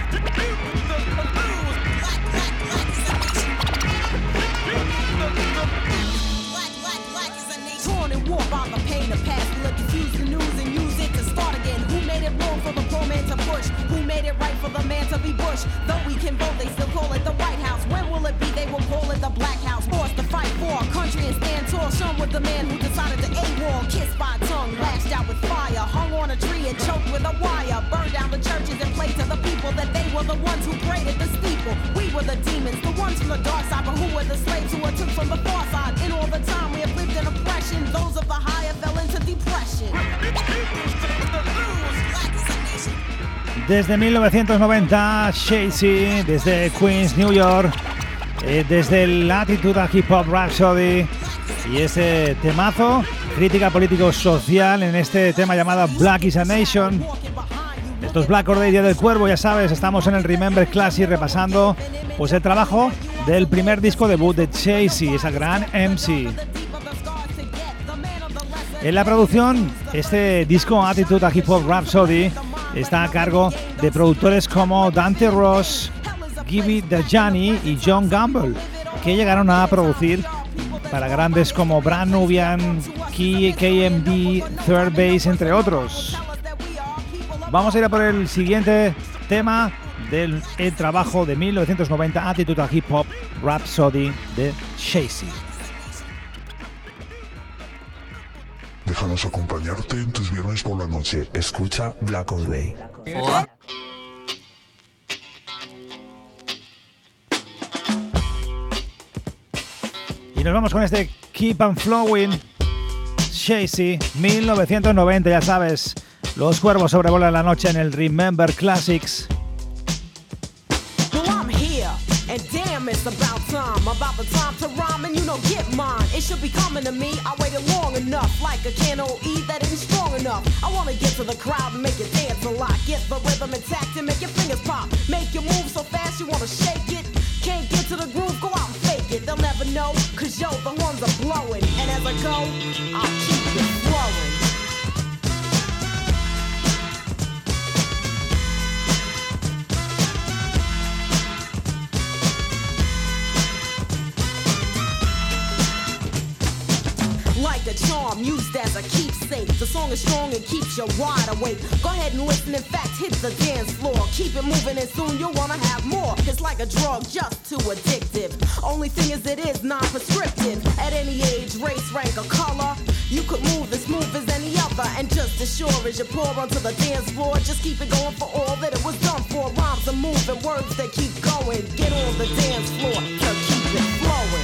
Torn and warped by the pain of past. We'll diffuse the news and use it to start again. Who made it wrong for the poor man to push? Who made it right for the man to be Bush? Though we can vote, they still call it the White House. When will it be? They will call it the Black House. Forced to fight for our country and stand tall. Shown with the man who decided to AWOL. Kissed by a tongue, lashed out with fire. Hung on a tree and choked with a wire. Burned down the churches and played to the people that they were the ones who prayed at the steeple. We were the demons, the ones from the dark side, but who were the slaves who were took from the far side? In all the time we have lived in oppression, those of the higher fell into depression. Desde mil novecientos noventa, Shady, desde Queens, New York, eh, desde el Attitude Hip Hop Rhapsody y ese temazo, crítica político-social en este tema llamado Black is a Nation. Esto es Black Or Day, Día del Cuervo, ya sabes, estamos en el Remember Classic repasando pues el trabajo del primer disco debut de Shady, esa gran M C. En la producción, este disco Attitude Hip Hop Rhapsody está a cargo de productores como Dante Ross, Gibby Dajani y John Gamble, que llegaron a producir para grandes como Brand Nubian, K M D, Third Base, entre otros. Vamos a ir a por el siguiente tema del el trabajo de mil novecientos noventa, Attitude Hip Hop Rhapsody de Shady. Déjanos acompañarte en tus viernes por la noche. Escucha Black Or Day. Hola. Y nos vamos con este Keep on Flowing, Shady, mil novecientos noventa, ya sabes. Los cuervos sobrevuelan la noche en el Remember Classics. And damn, it's about time, about the time to rhyme and you know get mine. It should be coming to me, I waited long enough, like a can O E that isn't strong enough. I wanna get to the crowd and make it dance a lot. Get the rhythm intact and make your fingers pop. Make you move so fast you wanna shake it. Can't get to the groove, go out and fake it. They'll never know, cause yo, the horns are blowing. And as I go, I'll keep it flowing. Like a charm, used as a keepsake. The song is strong and keeps you wide awake. Go ahead and listen, in fact, hit the dance floor. Keep it moving and soon you'll wanna have more. It's like a drug, just too addictive. Only thing is it is non-prescriptive. At any age, race, rank, or color, you could move as smooth as any other. And just as sure as you pour onto the dance floor, just keep it going for all that it was done for. Rhymes are moving, words that keep going. Get on the dance floor to keep it flowing.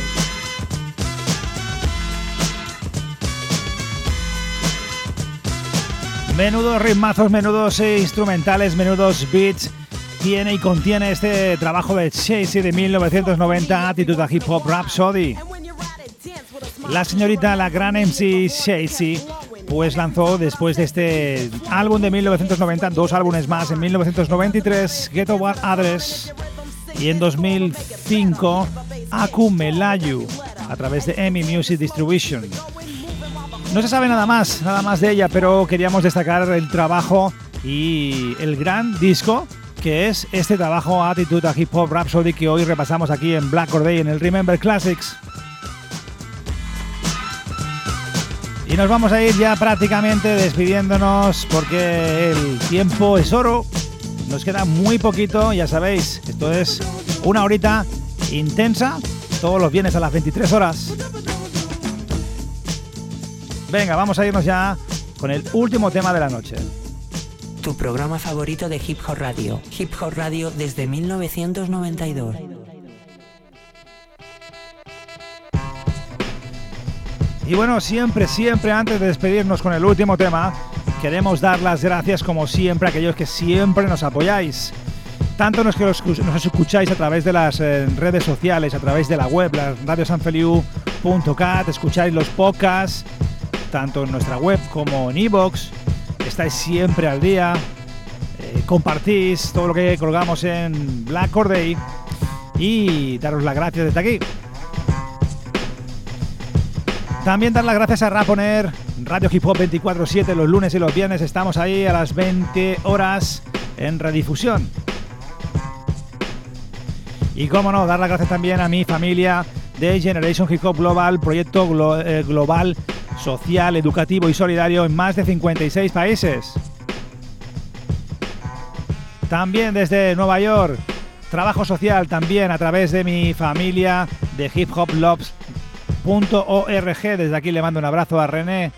Menudos ritmazos, menudos instrumentales, menudos beats tiene y contiene este trabajo de Shady de mil novecientos noventa, Attitude Hip Hop Rhapsody. La señorita, la gran M C Shady, pues lanzó después de este álbum de mil novecientos noventa dos álbumes más, en mil novecientos noventa y tres Ghetto War Address y en dos mil cinco Aku Melayu a través de E M I Music Distribution. No se sabe nada más, nada más de ella, pero queríamos destacar el trabajo y el gran disco que es este trabajo Attitude Hip Hop Rhapsody que hoy repasamos aquí en Black Or Day en el Remember Classics. Y nos vamos a ir ya prácticamente despidiéndonos porque el tiempo es oro. Nos queda muy poquito, ya sabéis, esto es una horita intensa, todos los viernes a las veintitrés horas. Venga, vamos a irnos ya con el último tema de la noche. Tu programa favorito de Hip Hop Radio. Hip Hop Radio desde mil novecientos noventa y dos. Y bueno, siempre, siempre antes de despedirnos con el último tema, queremos dar las gracias como siempre a aquellos que siempre nos apoyáis. Tanto los que nos escucháis a través de las eh, redes sociales, a través de la web, la radio san feliu punto cat, escucháis los podcasts, tanto en nuestra web como en iVoox, estáis siempre al día, eh, compartís todo lo que colgamos en Black Corday y daros las gracias desde aquí. También dar las gracias a Raponer, Radio Hip Hop veinticuatro siete, los lunes y los viernes estamos ahí a las veinte horas en redifusión. Y cómo no, dar las gracias también a mi familia de Generation Hip Hop Global, proyecto glo- eh, global, social, educativo y solidario en más de cincuenta y seis países. También desde Nueva York, trabajo social también a través de mi familia de hip hop loves punto org. Desde aquí le mando un abrazo a René.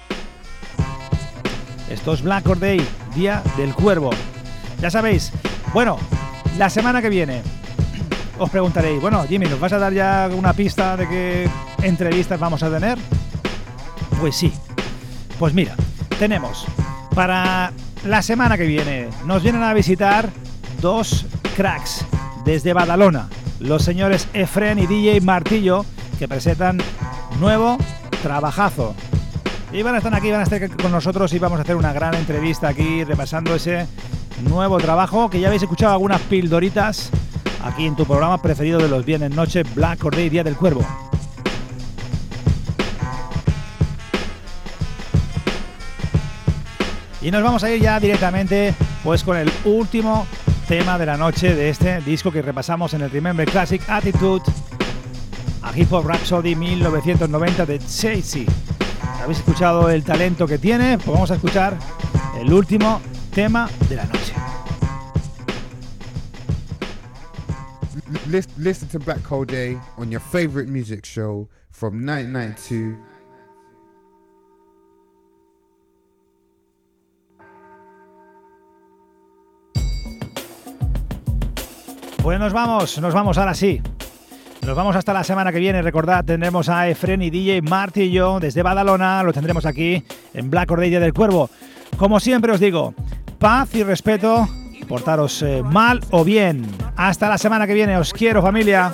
Esto es Black Corday, Día del Cuervo. Ya sabéis, bueno, la semana que viene os preguntaréis, bueno, Jimmy, ¿nos vas a dar ya una pista de qué entrevistas vamos a tener? Pues sí. Pues mira, tenemos para la semana que viene, nos vienen a visitar dos cracks desde Badalona, los señores Efren y D J Martillo, que presentan nuevo trabajazo. Y van a estar aquí, van a estar con nosotros y vamos a hacer una gran entrevista aquí repasando ese nuevo trabajo que ya habéis escuchado algunas pildoritas aquí en tu programa preferido de los viernes noche, Black Corday, Día del Cuervo. Y nos vamos a ir ya directamente pues con el último tema de la noche de este disco que repasamos en el Remember Classic Attitude, a Hip Hop Rhapsody mil novecientos noventa de Jay-Z. ¿Habéis escuchado el talento que tiene? Pues vamos a escuchar el último tema de la noche. Listen, listen to Black Corday on your favorite music show from nineteen ninety-two. Pues nos vamos, nos vamos ahora sí. Nos vamos hasta la semana que viene. Recordad, tendremos a Efren y D J Martillo desde Badalona. Lo tendremos aquí en Black Corday, Día del Cuervo. Como siempre os digo, paz y respeto. Portaros eh, mal o bien. Hasta la semana que viene. Os quiero, familia.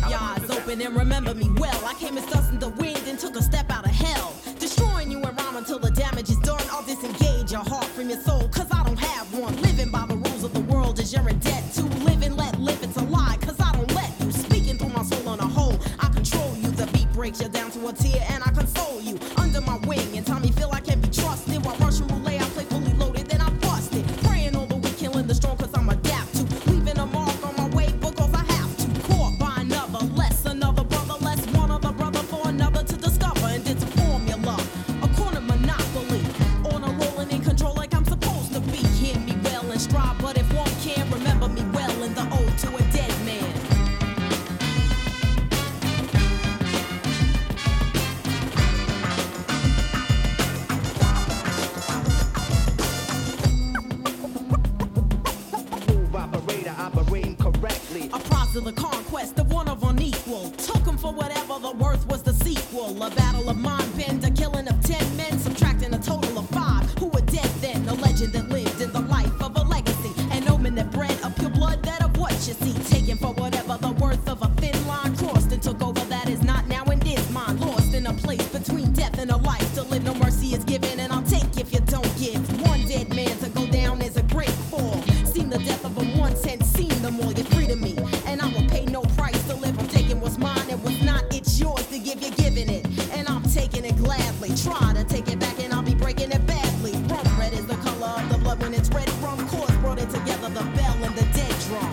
Breaks you down to a tear and I console you under my wing and Tommy feel I can be trusted while Russian roulette I play fully loaded then I bust it praying all the week killing the strong cause I'm adapt to leaving a mark on my way because I have to caught by another less another brother less one other brother for another to discover and it's a formula a corner monopoly on a rolling in control like I'm supposed to be hear me well and strive but if one can't remember me well in the ode to a dead man. To the conquest of one of unequal. Took him for whatever the worth was the sequel. A battle of mind bend, a killing of ten men, subtracting a total of five who were dead then. A legend that lived in the life of a legacy. An omen that bred a pure blood that of what you see. Taken for whatever the worth of a thin line crossed and took over that is not now and is mine. Lost in a place between death and a life. To live no mercy is given and I'll take if you don't give. One dead man to go down is a great fall. Seen the death of them once and seen them all. You're free to me. And I will pay no price to live. I'm taking what's mine and what's not. It's yours to give. You're giving it, and I'm taking it gladly. Try to take it back, and I'll be breaking it badly. Rum red is the color of the blood when it's red. Rum chords brought it together. The bell and the dead drum.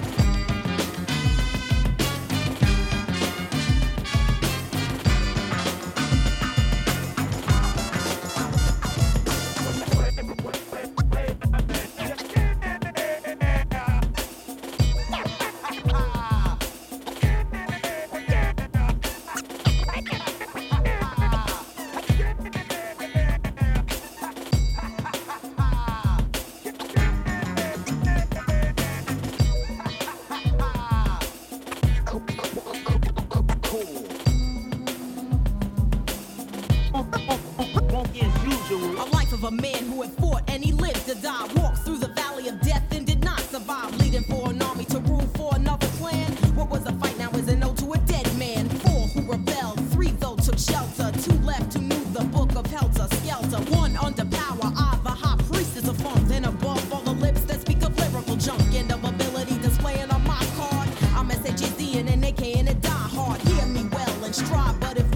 A man who had fought and he lived to die. Walked through the valley of death and did not survive. Leading for an army to rule for another clan. What was a fight now is an ode to a dead man. Four who rebelled, three though took shelter. Two left who knew the book of Helter Skelter. One under power, I the high priestess of funk. Then above all the lips that speak of lyrical junk. being an A K and a die hard. Hear me well and strive, but if